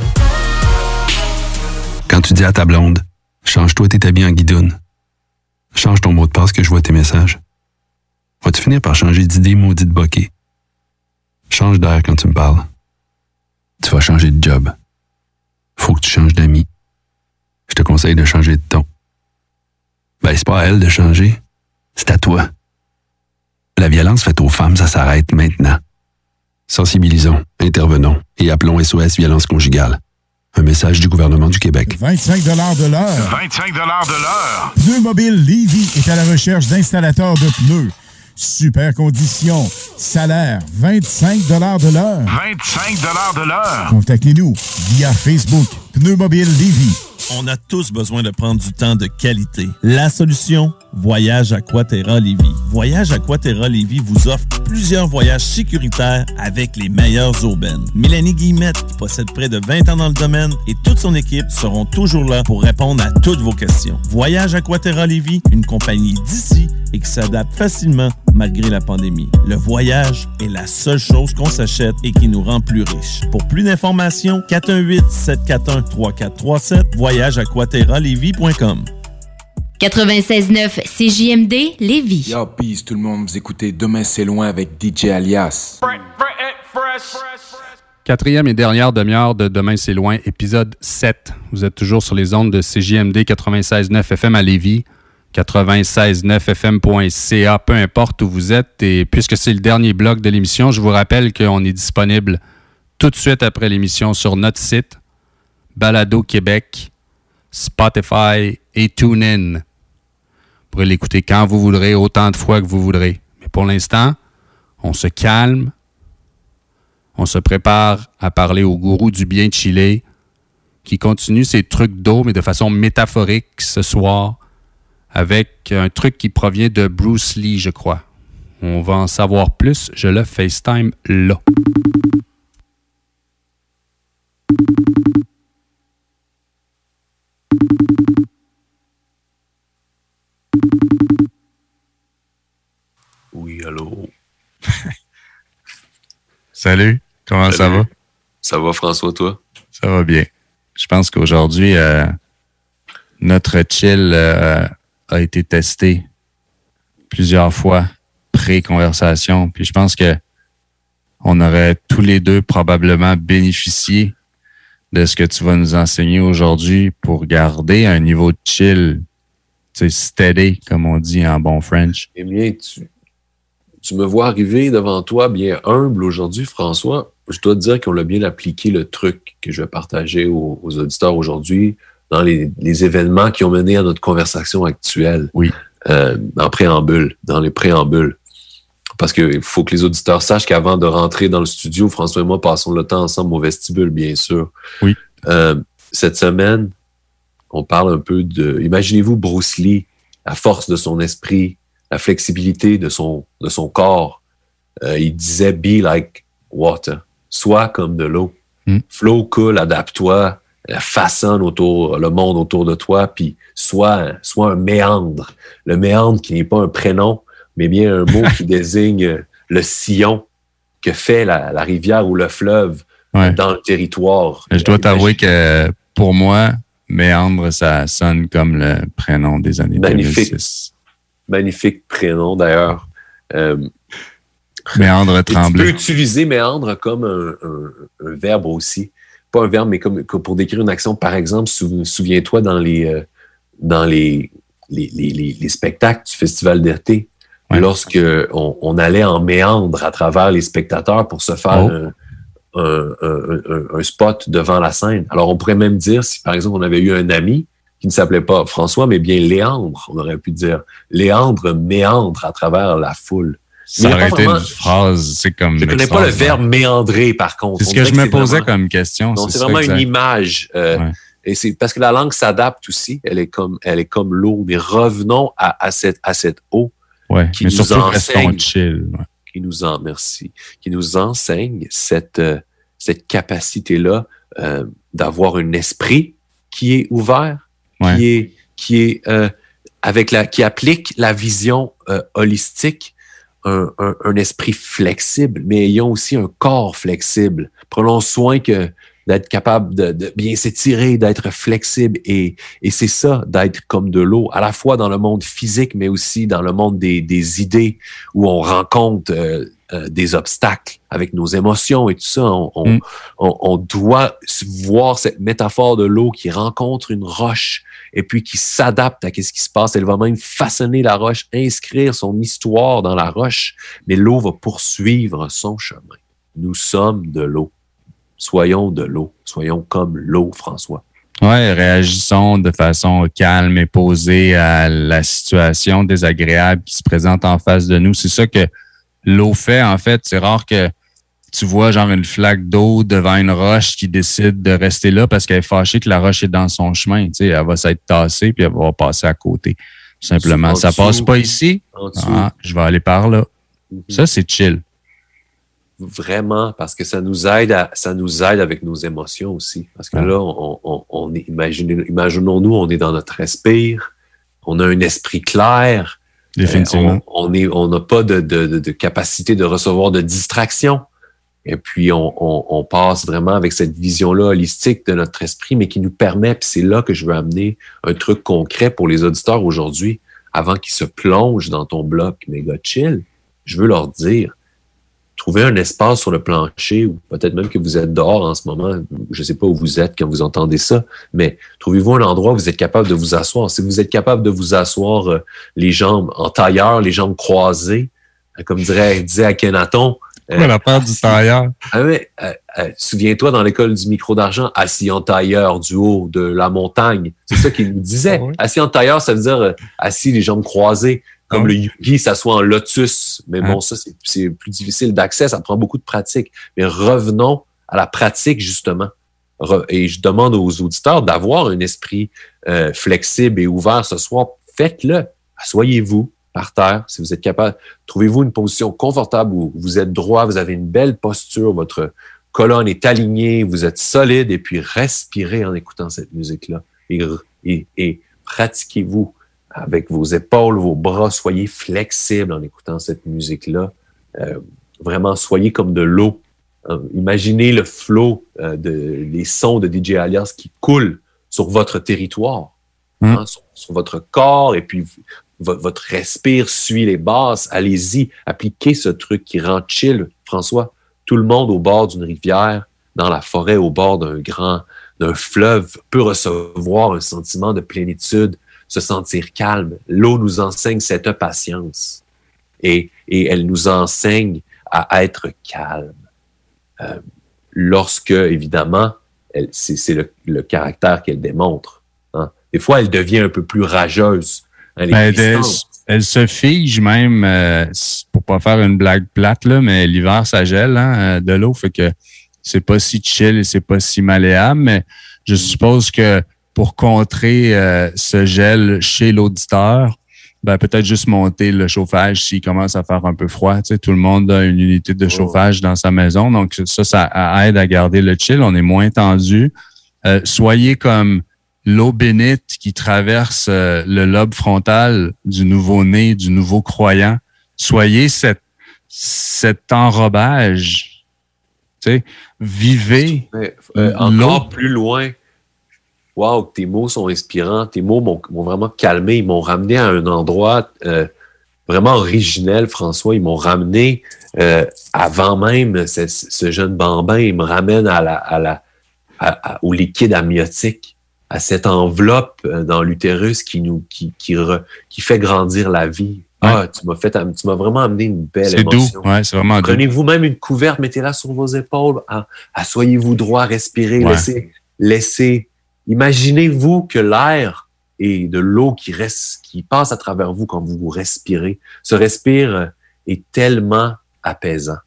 Quand tu dis à ta blonde, change-toi tes habits en guidoune. Change ton mot de passe que je vois tes messages. Vas-tu finir par changer d'idée maudite bokeh? Change d'air quand tu me parles. Tu vas changer de job. Faut que tu changes d'amis. Je te conseille de changer de ton. Ben, c'est pas à elle de changer. C'est à toi. La violence faite aux femmes, ça s'arrête maintenant. Sensibilisons, intervenons et appelons SOS Violence Conjugale. Un message du gouvernement du Québec. 25 de l'heure. 25 de l'heure. Pneus Mobile Lévy est à la recherche d'installateurs de pneus. Super conditions. Salaire, 25 de l'heure. 25 de l'heure. Contactez-nous via Facebook. Pneus Mobile Lévy. On a tous besoin de prendre du temps de qualité. La solution, Voyage Aquaterra Lévy. Voyage Aquaterra Lévy vous offre plusieurs voyages sécuritaires avec les meilleures urbaines. Mélanie Guillemette, qui possède près de 20 ans dans le domaine, et toute son équipe seront toujours là pour répondre à toutes vos questions. Voyage Aquaterra Lévy, une compagnie d'ici et qui s'adapte facilement malgré la pandémie. Le voyage est la seule chose qu'on s'achète et qui nous rend plus riches. Pour plus d'informations, 418-741-3437, voyageaquaterralévy.com. 96.9 CJMD Lévis. Yo, peace tout le monde, vous écoutez Demain c'est loin avec DJ Alias. Quatrième et dernière demi-heure de Demain c'est loin, épisode 7. Vous êtes toujours sur les ondes de CJMD 96.9 FM à Lévis, 96.9fm.ca, peu importe où vous êtes. Et puisque c'est le dernier bloc de l'émission, je vous rappelle qu'on est disponible tout de suite après l'émission sur notre site, Balado Québec, Spotify et TuneIn. Vous pourrez l'écouter quand vous voudrez, autant de fois que vous voudrez. Mais pour l'instant, on se calme. On se prépare à parler au gourou du bien chillé qui continue ses trucs d'eau, mais de façon métaphorique ce soir, avec un truc qui provient de Bruce Lee, je crois. On va en savoir plus. Je le FaceTime là. Oui, allô? Salut, comment ça va? Ça va, François, toi? Ça va bien. Je pense qu'aujourd'hui, notre chill a été testé plusieurs fois pré-conversation. Puis je pense que on aurait tous les deux probablement bénéficié de ce que tu vas nous enseigner aujourd'hui pour garder un niveau de chill, tu sais, steady, comme on dit en bon French. Eh bien, tu me vois arriver devant toi bien humble aujourd'hui, François. Je dois te dire qu'on a bien appliqué le truc que je vais partager aux auditeurs aujourd'hui dans les événements qui ont mené à notre conversation actuelle. Oui. Dans les préambules. Parce qu'il faut que les auditeurs sachent qu'avant de rentrer dans le studio, François et moi passons le temps ensemble au vestibule, bien sûr. Oui. Cette semaine, on parle un peu de... Imaginez-vous Bruce Lee, la force de son esprit, la flexibilité de son corps. Il disait « Be like water », sois comme de l'eau. Flow, cool, adapte-toi, façonne le monde autour de toi, puis sois un méandre. Le méandre qui n'est pas un prénom, mais bien un mot qui désigne le sillon que fait la rivière ou le fleuve dans le territoire. Je dois t'avouer que pour moi, méandre, ça sonne comme le prénom des années 2006. Magnifique prénom, d'ailleurs. Méandre Tremblay. Tu peux utiliser méandre comme un verbe aussi. Pas un verbe, mais comme pour décrire une action. Par exemple, souviens-toi dans les spectacles du Festival d'été, lorsque on allait en méandre à travers les spectateurs pour se faire un spot devant la scène. Alors, on pourrait même dire, si par exemple, on avait eu un ami qui ne s'appelait pas François, mais bien Léandre, on aurait pu dire Léandre méandre à travers la foule. Ça aurait été une phrase, c'est comme... Je ne connais pas le verbe méandrer, par contre. C'est ce que je me posais comme question. Non, c'est vraiment une image. Et c'est parce que la langue s'adapte aussi. Elle est comme l'eau. Mais revenons à cette eau qui nous enseigne. Chill. Qui nous enseigne cette capacité-là d'avoir un esprit qui est ouvert, qui applique la vision holistique, un esprit flexible, mais ayons aussi un corps flexible. Prenons soin d'être capable de bien s'étirer, d'être flexible, et c'est ça, d'être comme de l'eau, à la fois dans le monde physique, mais aussi dans le monde des idées, où on rencontre des obstacles avec nos émotions et tout ça. On doit voir cette métaphore de l'eau qui rencontre une roche et puis qui s'adapte à ce qui se passe. Elle va même façonner la roche, inscrire son histoire dans la roche, mais l'eau va poursuivre son chemin. Nous sommes de l'eau. Soyons de l'eau. Soyons comme l'eau, François. Oui, réagissons de façon calme et posée à la situation désagréable qui se présente en face de nous. C'est ça que l'eau fait, en fait. C'est rare que tu vois genre une flaque d'eau devant une roche qui décide de rester là parce qu'elle est fâchée que la roche est dans son chemin. Tu sais, elle va s'être tassée puis elle va passer à côté. Tout simplement. Ça passe pas ici. Je vais aller par là. Ça, c'est chill. Vraiment, parce que ça nous aide avec nos émotions aussi. Parce que là, imaginons-nous, on est dans notre respire, on a un esprit clair. Définitivement. On n'a pas de capacité de recevoir de distraction. Et puis, on passe vraiment avec cette vision-là holistique de notre esprit, mais qui nous permet, puis c'est là que je veux amener un truc concret pour les auditeurs aujourd'hui, avant qu'ils se plongent dans ton bloc méga chill. Je veux leur dire, trouvez un espace sur le plancher, ou peut-être même que vous êtes dehors en ce moment, je ne sais pas où vous êtes quand vous entendez ça, mais trouvez-vous un endroit où vous êtes capable de vous asseoir. Si vous êtes capable de vous asseoir les jambes en tailleur, les jambes croisées, comme disait Akhenaton. La part du tailleur. Souviens-toi, dans l'école du micro d'argent, assis en tailleur du haut de la montagne. C'est ça qu'il nous disait. Assis en tailleur, ça veut dire assis les jambes croisées. Comme le yogi s'assoit en lotus. Mais bon, ça, c'est plus difficile d'accès. Ça prend beaucoup de pratique. Mais revenons à la pratique, justement. Et je demande aux auditeurs d'avoir un esprit flexible et ouvert ce soir. Faites-le. Asseyez-vous par terre, si vous êtes capable. Trouvez-vous une position confortable où vous êtes droit, vous avez une belle posture, votre colonne est alignée, vous êtes solide, et puis respirez en écoutant cette musique-là. Et pratiquez-vous avec vos épaules, vos bras, soyez flexibles en écoutant cette musique-là. Vraiment, soyez comme de l'eau. Imaginez le flot des sons de DJ Alias qui coulent sur votre territoire, sur votre corps, et puis votre respire suit les basses. Allez-y, appliquez ce truc qui rend chill, François. Tout le monde au bord d'une rivière, dans la forêt, au bord d'un fleuve, peut recevoir un sentiment de plénitude, se sentir calme. L'eau nous enseigne cette patience et elle nous enseigne à être calme. Lorsque, évidemment, c'est le caractère qu'elle démontre. Hein. Des fois, elle devient un peu plus rageuse. Elle se fige même, pour pas faire une blague plate, là, mais l'hiver, ça gèle de l'eau, fait que c'est pas si chill et c'est pas si malléable, mais je suppose que pour contrer ce gel chez l'auditeur, peut-être juste monter le chauffage s'il commence à faire un peu froid. Tu sais, tout le monde a une unité de chauffage dans sa maison, donc ça aide à garder le chill. On est moins tendu. Soyez comme l'eau bénite qui traverse le lobe frontal du nouveau-né, du nouveau croyant. Soyez cet enrobage. Tu sais, vivez encore plus loin. Wow, tes mots sont inspirants. Tes mots m'ont vraiment calmé. Ils m'ont ramené à un endroit vraiment originel, François. Ils m'ont ramené avant même ce jeune bambin. Ils me ramènent au liquide amniotique, à cette enveloppe dans l'utérus qui fait grandir la vie. Ah, tu m'as vraiment amené une belle émotion. Doux. Ouais, c'est vraiment doux. Prenez-vous même une couverte, mettez-la sur vos épaules. Asseyez-vous droit, respirez, laissez. Imaginez-vous que l'air et de l'eau qui passe à travers vous quand vous respirez se respire est tellement apaisant.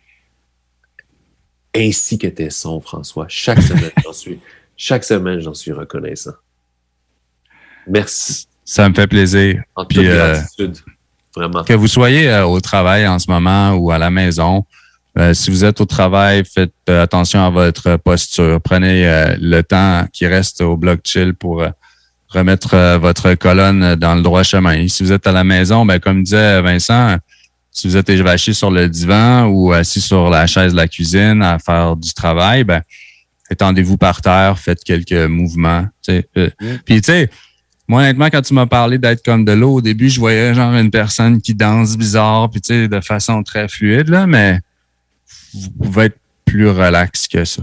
Ainsi que tes sons, François. Chaque semaine, j'en suis reconnaissant. Merci. Ça me fait plaisir. En toute gratitude. Vraiment. Que vous soyez au travail en ce moment ou à la maison, si vous êtes au travail, faites attention à votre posture. Prenez le temps qui reste au bloc chill pour remettre votre colonne dans le droit chemin. Si vous êtes à la maison, ben comme disait Vincent, si vous êtes évaché sur le divan ou assis sur la chaise de la cuisine à faire du travail, ben étendez-vous par terre, faites quelques mouvements. Puis tu sais, moi honnêtement, quand tu m'as parlé d'être comme de l'eau, au début, je voyais genre une personne qui danse bizarre, puis tu sais, de façon très fluide, là, mais vous pouvez être plus relax que ça.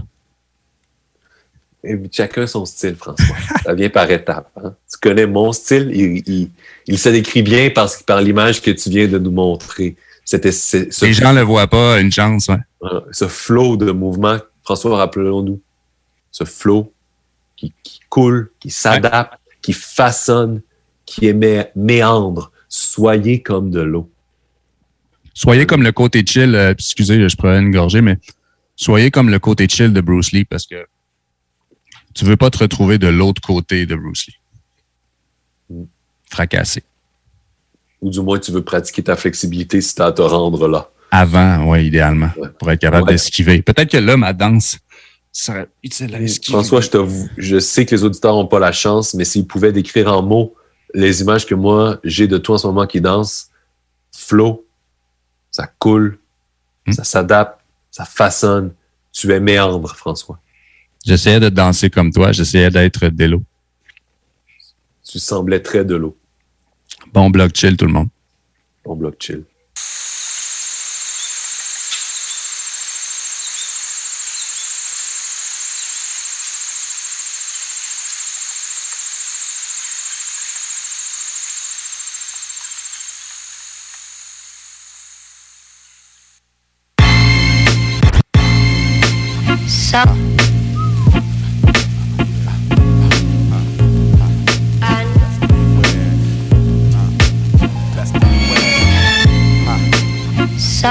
Et chacun son style, François. Ça vient par étapes. Hein? Tu connais mon style, il se décrit bien par l'image que tu viens de nous montrer. Les gens ne le voient pas, une chance. Ouais. Ce flow de mouvement, François, rappelons-nous, ce flow qui coule, qui s'adapte, qui façonne, qui méandre. Soyez comme de l'eau. Soyez comme le côté chill, excusez, je prenais une gorgée, mais soyez comme le côté chill de Bruce Lee parce que tu veux pas te retrouver de l'autre côté de Bruce Lee. Fracassé. Ou du moins, tu veux pratiquer ta flexibilité si tu as à te rendre là. Avant, oui, idéalement, pour être capable d'esquiver. Peut-être que là, ma danse serait utile à esquiver. François, je sais que les auditeurs n'ont pas la chance, mais s'ils pouvaient décrire en mots les images que moi, j'ai de toi en ce moment qui danse, flow, ça coule, ça s'adapte, ça façonne. Tu es méandre, François. J'essayais de danser comme toi, j'essayais d'être de l'eau. Tu semblais très de l'eau. Bon bloc chill, tout le monde. Bon bloc chill. Ça. Ça.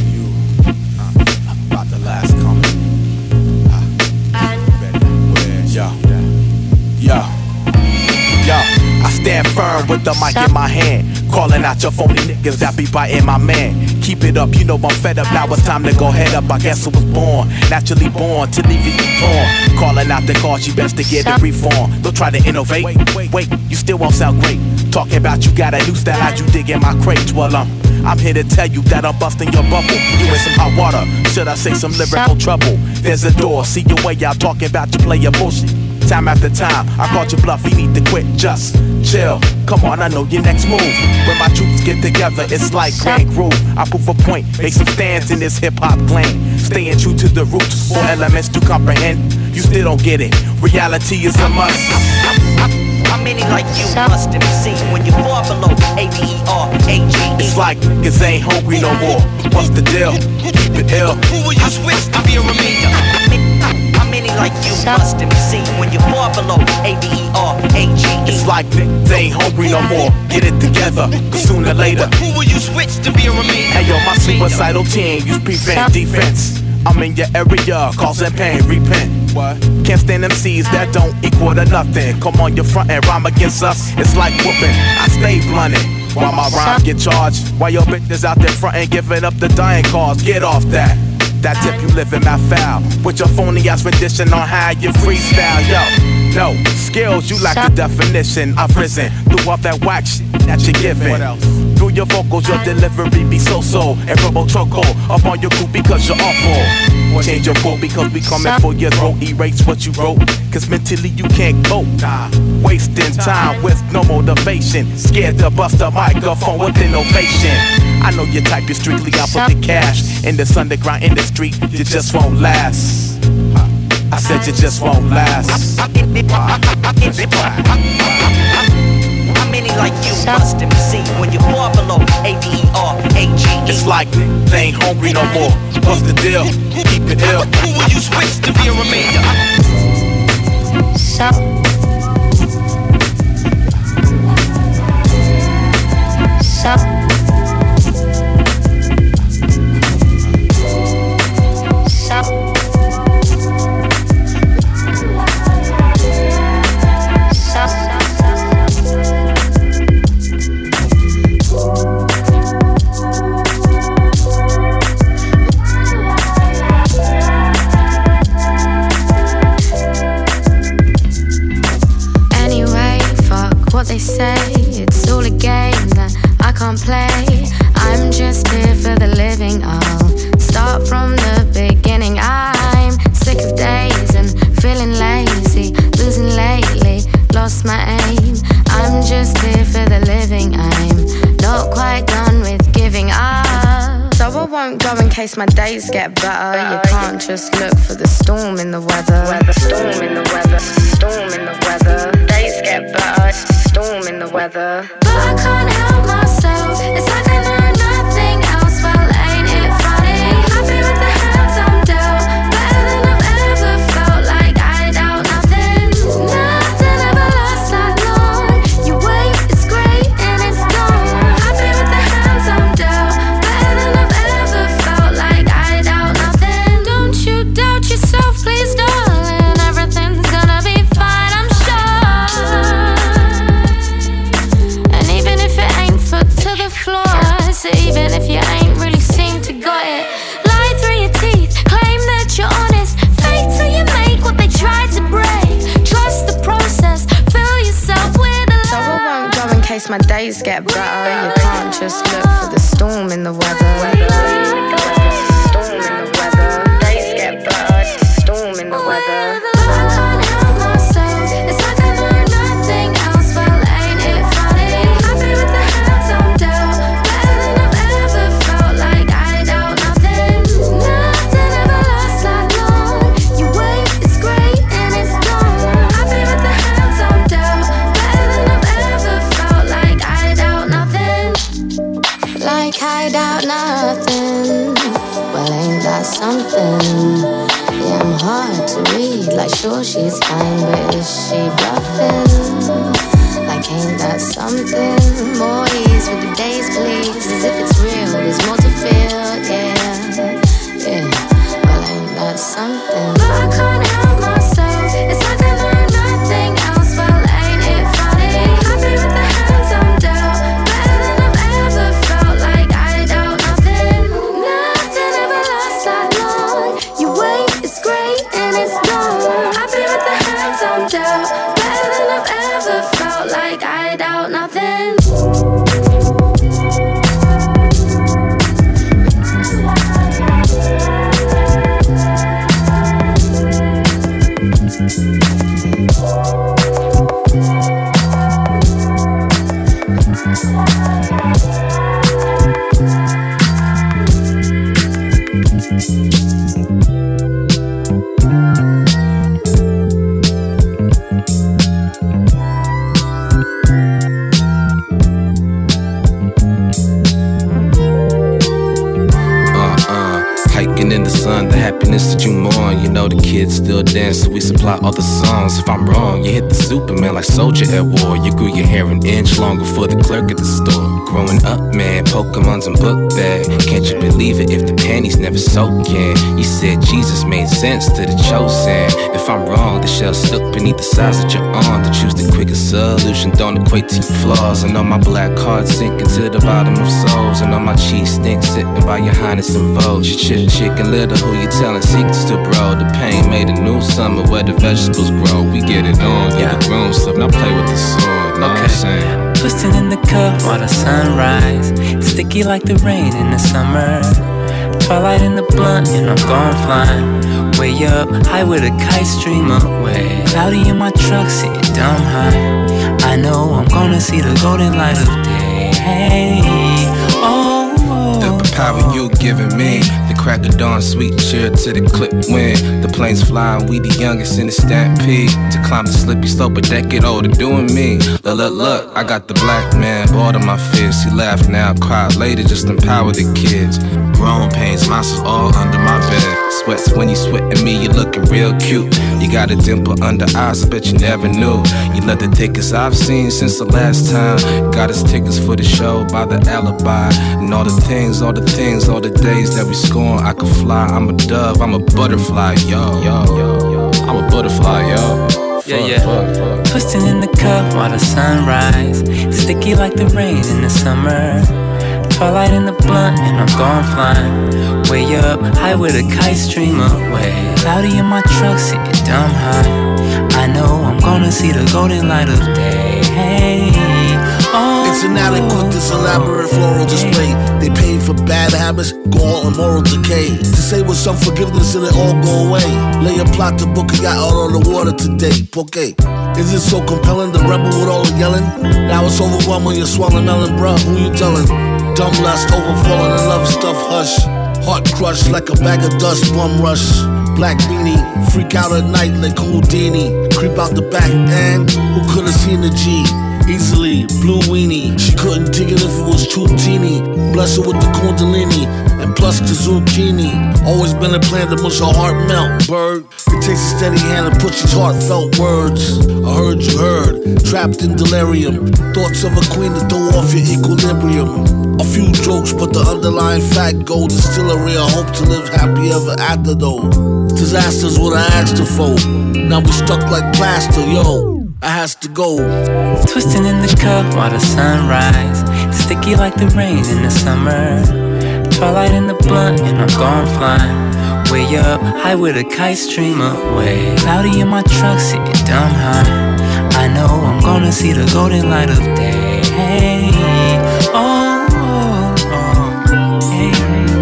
I stand firm with the mic in my hand, calling out your phony niggas that be biting my man. Keep it up, you know I'm fed up. Now it's time to go head up. I guess I was born, naturally born to leave you torn. Calling out the cause, you best to get a reform. Don't try to innovate. Wait, you still won't sound great. Talking about you got a new style, how'd you dig in my crate? Well, I'm here to tell you that I'm busting your bubble. You in some hot water, should I say some lyrical trouble? There's a door, see your way out, talking about you play your bullshit. Time after time, I called you bluff, you need to quit, just chill. Come on, I know your next move. When my troops get together, it's like Grand Groove. I prove a point, make some stands in this hip-hop clan. Staying true to the roots, 4 elements to comprehend. You still don't get it, reality is a must. How many like you must have seen when you fall below ABERAGE? It's like niggas ain't hungry no more. What's the deal? Keep it ill. Who will you switch to be a remainder? How many like you must have seen when you fall below ABERAGE? It's like niggas ain't hungry no more. Get it together, cause sooner or later. Who will you switch to be a remainder? Hey yo, my suicidal team use prevent defense. I'm in your area, causing pain, repent. What? Can't stand MCs that don't equal to nothing. Come on your front and rhyme against us, it's like whooping. I stay blunted while my rhymes get charged. While your bitches out there front and giving up the dying cause. Get off that. That tip you living my foul. With your phony ass rendition on how you freestyle, yo. No, skills, you lack the definition. I've risen through all that whack shit that you're giving. Through your vocals, your delivery be so-so. And robo choco up on your crew because you're awful. Change your quote because we coming for your throat. Erase what you wrote, cause mentally you can't cope. Wasting time with no motivation. Scared to bust a microphone with innovation. I know your type is strictly out for the cash. In this underground industry, you just won't last. I said you just won't last. How many like you must have seen when you fall below ABERAGE? It's like they ain't hungry no more. What's the deal? Keep it ill. Who will you switch to be a remainder? So. my aim. I'm just here for the living. I'm not quite done with giving up. So I won't go in case my days get better. You can't just look for the storm in the weather. Storm in the weather, storm in the weather. Days get better, storm in the weather. But I can't help myself. It's like I know nothing else. Well, ain't it funny? Happy with the hands I'm dealt. Better than I've ever felt. Like I doubt nothing. Nothing ever lasts that long. You wait, it's great and it's gone. Happy with the hands I'm dealt. Better than I've ever felt. Like I doubt nothing. Don't you doubt yourself, please, darling. Everything's gonna be fine, I'm sure. And even if it ain't foot to the floor, so even if you ain't really seem to got it, lie through your teeth, claim that you're honest, fake till you make what they tried to break. Trust the process, fill yourself with a love. So I won't go in case my days get better. You can't just look for the storm in the weather. Storm in the weather. Days get better. Storm in the weather. I can't help myself. It's like I know nothing else. Well, ain't it funny? Happy with the hands I'm dealt. Better than I've ever felt. Like I doubt nothing. Nothing ever lasts that long. You wait, it's great and it's gone. Happy with the hands I'm dealt. Better than I've ever felt. Like I doubt nothing. Like I doubt nothing. Well, ain't that something? Yeah, I'm hard to read. Like, sure, she's fine, but is she bluffing? Like, ain't that something? More ease with the days, please. As if it's real, there's more to feel, yeah. Yeah, well, ain't that something? But I can't help myself. It's like I know nothing else. Well, ain't it funny? Happy with the hands I'm dealt. Better than I've ever felt. Like I doubt nothing. Nothing ever lasts that long. You wait, it's great and it's gone. Happy with the hands I'm dealt. Better than I've ever felt. Like I doubt nothing. Hiking in the sun, the happiness that you mourn. You know the kids still dance, so we supply all the songs. If I'm wrong, you hit the Superman like Soldier at war. You grew your hair an inch longer for the clerk at the store. Growing up, man, Pokemon's and book bag. Can't you believe it if the panties never soak in? You said Jesus made sense to the chosen. If I'm wrong, the shell stuck beneath the size of your arm. To choose the quickest solution don't equate to your flaws. And on my black card sinking to the bottom of souls. And on my cheese stink sitting by your highness and vogue. Your chicken little, who you telling secrets to, bro? The pain made a new summer where the vegetables grow. We get it on, yeah. The grown stuff, now play with the sword. Know what I'm saying? Twisting in the cup while the sunrise, sticky like the rain in the summer. Twilight in the blunt and I'm gone flying. Way up, high with a kite stream away. Cloudy in my truck, sitting dumb high. I know I'm gonna see the golden light of day. Hey, oh. The power you giving me, the crack of dawn, sweet cheer to the clip wind. The planes flying, we the youngest in the stampede. To climb the slippy slope, a decade older, doing me. Look, I got the black man, bored of my fears. He laugh now, cry later, just empower the kids. Grown pains, monsters all under my bed. Sweats when you sweating me, you looking real cute. You got a dimple under eyes, I bet you never knew. You love the thickest I've seen since the last time. Got us tickets for the show by the alibi. And all the things, all the days that we scorn. I could fly, I'm a dove, I'm a butterfly, yo. I'm a butterfly, yo. Yeah. Twisting in the cup while the sunrise, sticky like the rain in the summer. Twilight in the blunt and I'm gone flying. Way up, high with a kite stream away. Cloudy in my truck, sitting dumb high. I know I'm gonna see the golden light of day. Hey, oh. It's inadequate, this elaborate floral display. They paid for bad habits, gall and moral decay. To say with some forgiveness and it all go away. Lay a plot to book a yacht out on the water today. Porque. Is it so compelling, the rebel with all the yelling? Now it's overwhelming, you're swallowing melon, bruh, who you telling? Dumb lust, overfalling in love stuff, hush. Heart crushed like a bag of dust, bum rush. Black beanie, freak out at night like Houdini. Creep out the back and who could've seen the G? Easily, blue weenie. She couldn't dig it if it was too teeny. Bless her with the kundalini and plus the zucchini. Always been a plan to mush her heart melt, bird. It takes a steady hand to put these heartfelt words. I heard you heard, trapped in delirium. Thoughts of a queen to throw off your equilibrium. A few jokes, but the underlying fact gold is still a real hope to live happy ever after though. Disaster's what I asked her for. Now we stuck like plaster, yo. I has to go. Twisting in the cup while the sunrise, sticky like the rain in the summer. Twilight in the blunt and I'm gone flying. Way up, high with a kite stream away. Cloudy in my truck, sitting dumb high. I know I'm gonna see the golden light of day. Oh, oh, oh, hey.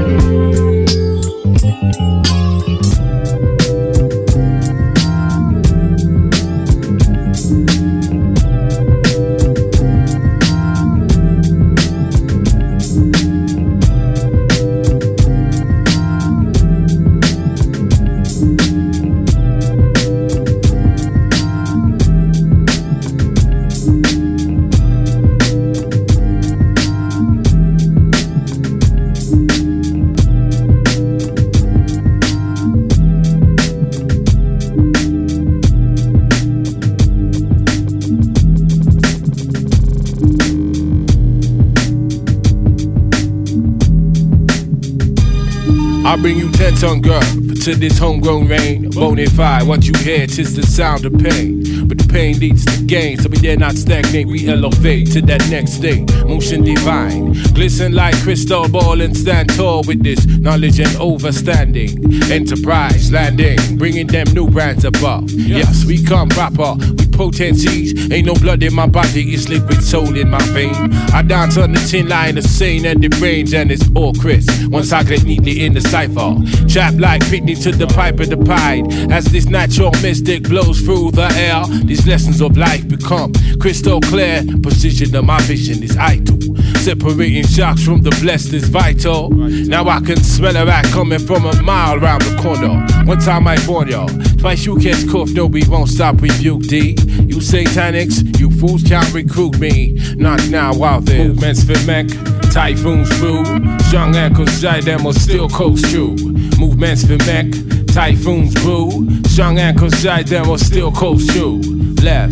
I bring you 10-ton girl to this homegrown rain. Bonafide, what you hear, 'tis the sound of pain. But the pain leads to gain, so we dare not stagnate. We elevate to that next state. Motion divine, glisten like crystal ball and stand tall with this knowledge and overstanding. Enterprise landing, bringing them new brands above. Yes, we come proper with potencies. Ain't no blood in my body, it's liquid soul in my vein. I dance on the tin line of sane and the brains, and it's all crisp. Once I get neatly in the cipher, trap like Pitney to the pipe of the pied. As this natural mystic blows through the air, these lessons of life become crystal clear. Precision of my vision is idle. Separating shocks from the blessed is vital. Now I can smell a rat coming from a mile around the corner. One time I warn y'all, twice you catch cough, no we won't stop rebuke D. You satanics, you fools can't recruit me. Not now while there's movements for mech. Typhoons brew, strong ankles side them will still coast through. Movements for mech, typhoons brew, strong ankles side them will still coast through. Left,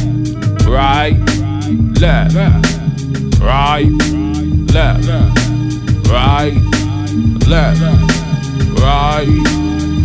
right, left, right, left, right, left, right.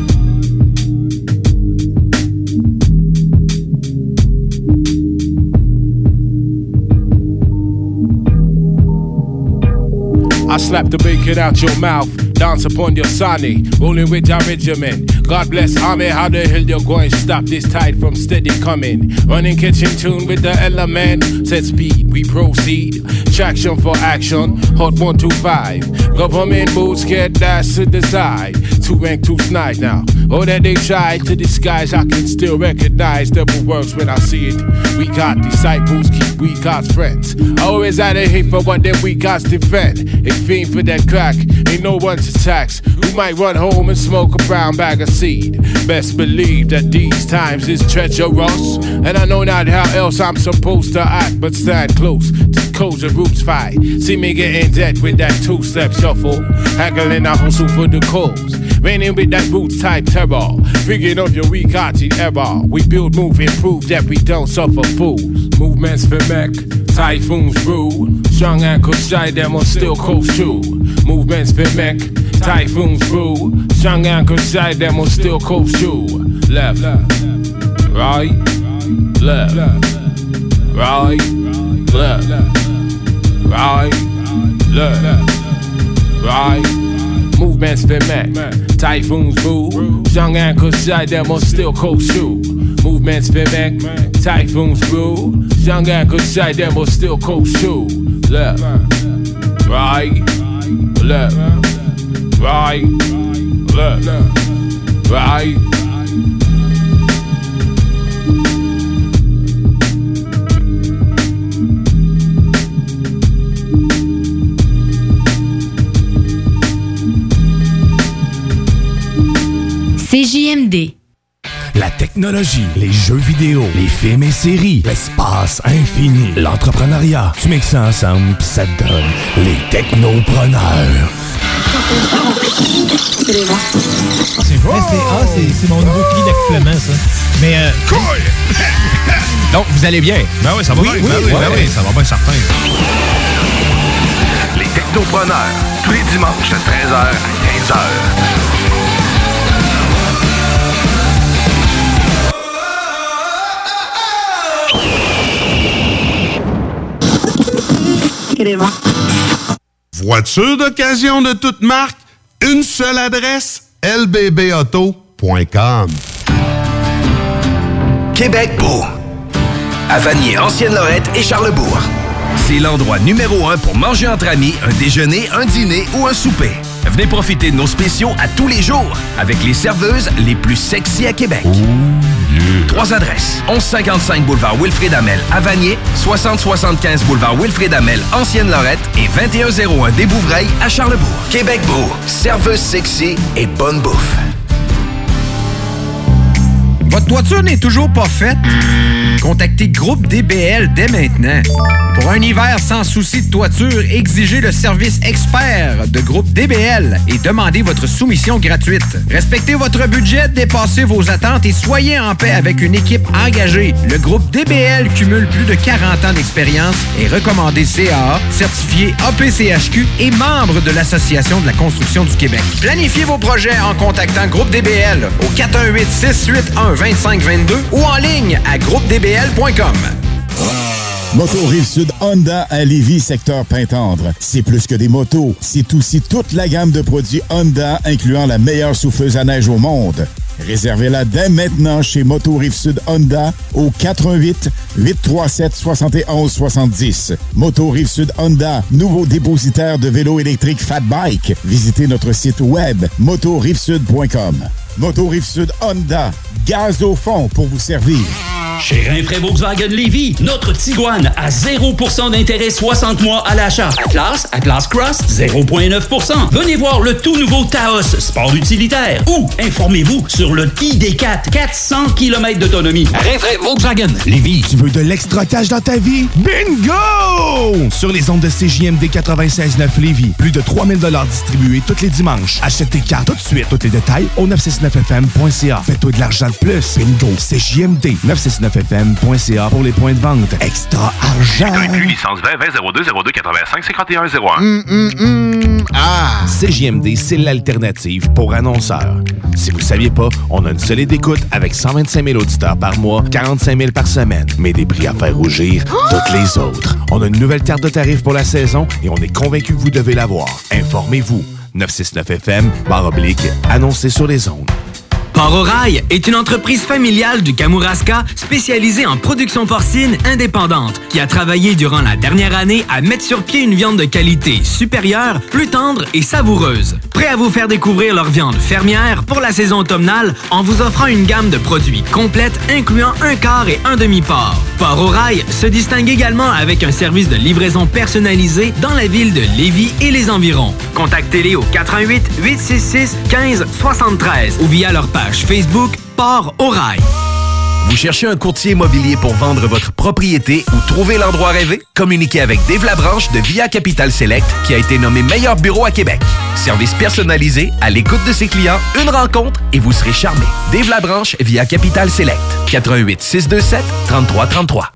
I slap the bacon out your mouth, dance upon your sonny, rolling with your regiment. God bless army, how the hell you going to stop this tide from steady coming? Running, catching tune with the element, set speed, we proceed. Traction for action, hot 125. Government boots get dashed to the side. 2 rank, 2 snide now. Oh, that they tried to disguise, I can still recognize devil works when I see it. We got disciples, keep we God's friends. Always out of hate for what them we God's defend. It fiend for that crack, ain't no one to tax. We might run home and smoke a brown bag of seed. Best believe that these times is treacherous, and I know not how else I'm supposed to act, but stand close to codes and roots fight. See me get in debt with that 2-step shuffle, haggling I hustle for the cause. Raining with that roots type terror, figuring of your weak-hearted error. We build, move, improve that we don't suffer fools. Movements for mech, typhoons brew, strong ankles shy them will still coast through. Movements for mech, typhoons brew, strong ankles shy them will still coast through. Left, right, left, right, left, right, left, right. Movements for mech, typhoons brew, strong ankles shy them will still coast through. Movements mimic, typhoons brew. Shanghai could say them will still coast too. Left, right, left, right, left, right. CJMD. La technologie, les jeux vidéo, les films et séries, l'espace infini, l'entrepreneuriat. Tu mixes ça ensemble pis ça te donne les technopreneurs. C'est fort! C'est mon nouveau cri d'accouplement, ça. Mais Donc, vous allez bien? Ben oui, ça va bien. Oui, ça va bien certain. Les technopreneurs, tous les dimanches de 13h à 15h. Voiture d'occasion de toute marque, une seule adresse, lbbauto.com. Québec beau. À Vanier, Ancienne-Lorette et Charlebourg. C'est l'endroit numéro 1 pour manger entre amis, un déjeuner, un dîner ou un souper. Venez profiter de nos spéciaux à tous les jours avec les serveuses les plus sexy à Québec. Trois adresses. 1155 boulevard Wilfrid Hamel à Vanier, 6075 boulevard Wilfrid Hamel, Ancienne-Lorette et 2101 des Bouvrailles à Charlebourg. Québec beau, serveuse sexy et bonne bouffe. Votre toiture n'est toujours pas faite? Contactez Groupe DBL dès maintenant. Pour un hiver sans souci de toiture, exigez le service expert de Groupe DBL et demandez votre soumission gratuite. Respectez votre budget, dépassez vos attentes et soyez en paix avec une équipe engagée. Le Groupe DBL cumule plus de 40 ans d'expérience, est recommandé CAA, certifié APCHQ et membre de l'Association de la construction du Québec. Planifiez vos projets en contactant Groupe DBL au 418-681-2522 ou en ligne à groupedbl.com. Moto Rive-Sud Honda à Lévis, secteur Pintendre. C'est plus que des motos, c'est aussi toute la gamme de produits Honda, incluant la meilleure souffleuse à neige au monde. Réservez-la dès maintenant chez Moto Rive-Sud Honda au 418-837-7170. Moto Rive-Sud Honda, nouveau dépositaire de vélos électriques Fat Bike. Visitez notre site web motorivesud.com. Moto Rive-Sud Honda, gaz au fond pour vous servir. Chez Rinfraie Volkswagen Lévis, notre Tiguan à 0% d'intérêt 60 mois à l'achat. Atlas Cross, 0,9%. Venez voir le tout nouveau Taos, sport utilitaire. Ou informez-vous sur le ID4, 400 km d'autonomie. Rinfraie Volkswagen Lévis. Tu veux de l'extra cash dans ta vie? Bingo! Sur les ondes de CJMD 96.9 Lévis, plus de 3000 $ distribués tous les dimanches. Achète tes cartes tout de suite. Tous les détails au 969fm.ca. Fais-toi de l'argent de plus. Bingo! CJMD 969fm.ca pour les points de vente. Extra argent! Licence 20 02 02 85 51 01. CJMD, c'est l'alternative pour annonceurs. Si vous ne saviez pas, on a une solide écoute avec 125 000 auditeurs par mois, 45 000 par semaine, mais des prix à faire rougir toutes les autres. On a une nouvelle carte de tarifs pour la saison et on est convaincu que vous devez l'avoir. Informez-vous. 969FM, annoncé sur les ondes. Port-au-Rail est une entreprise familiale du Kamouraska spécialisée en production porcine indépendante qui a travaillé durant la dernière année à mettre sur pied une viande de qualité supérieure, plus tendre et savoureuse. Prêt à vous faire découvrir leur viande fermière pour la saison automnale en vous offrant une gamme de produits complète incluant un quart et un demi-porc. Port-au-Rail se distingue également avec un service de livraison personnalisé dans la ville de Lévis et les environs. Contactez-les au 418-866-1573 ou via leur page Facebook Port-au-Rail. Vous cherchez un courtier immobilier pour vendre votre propriété ou trouver l'endroit rêvé? Communiquez avec Dave Labranche de Via Capital Select qui a été nommé meilleur bureau à Québec. Service personnalisé, à l'écoute de ses clients, une rencontre et vous serez charmé. Dave Labranche via Capital Select. 88 627 33 33.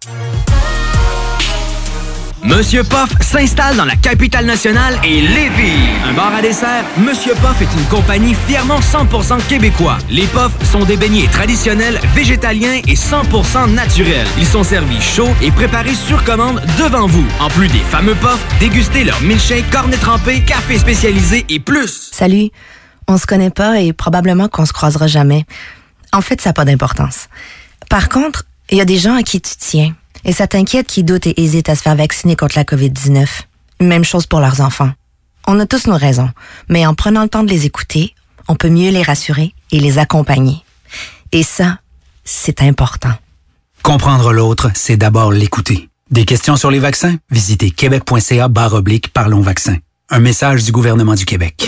Monsieur Poff s'installe dans la capitale nationale et Lévis. Un bar à dessert, Monsieur Poff est une compagnie fièrement 100% québécois. Les Poffs sont des beignets traditionnels, végétaliens et 100% naturels. Ils sont servis chauds et préparés sur commande devant vous. En plus des fameux Poffs, dégustez leur milkshake, cornet trempé, café spécialisé et plus. Salut, on se connaît pas et probablement qu'on se croisera jamais. En fait, ça n'a pas d'importance. Par contre, il y a des gens à qui tu tiens. Et ça t'inquiète qui doutent et hésitent à se faire vacciner contre la COVID-19. Même chose pour leurs enfants. On a tous nos raisons, mais en prenant le temps de les écouter, on peut mieux les rassurer et les accompagner. Et ça, c'est important. Comprendre l'autre, c'est d'abord l'écouter. Des questions sur les vaccins? Visitez québec.ca/parlons vaccins. Un message du gouvernement du Québec.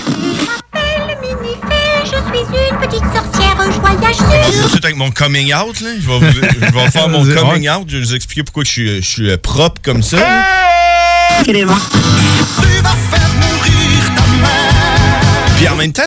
Je suis une petite sorcière joyeuse. Je commence tout de suite avec mon coming out. Là. Je vais faire mon coming out. Je vais vous expliquer pourquoi je suis propre comme ça. Tu vas faire mourir ta mère. Puis en même temps,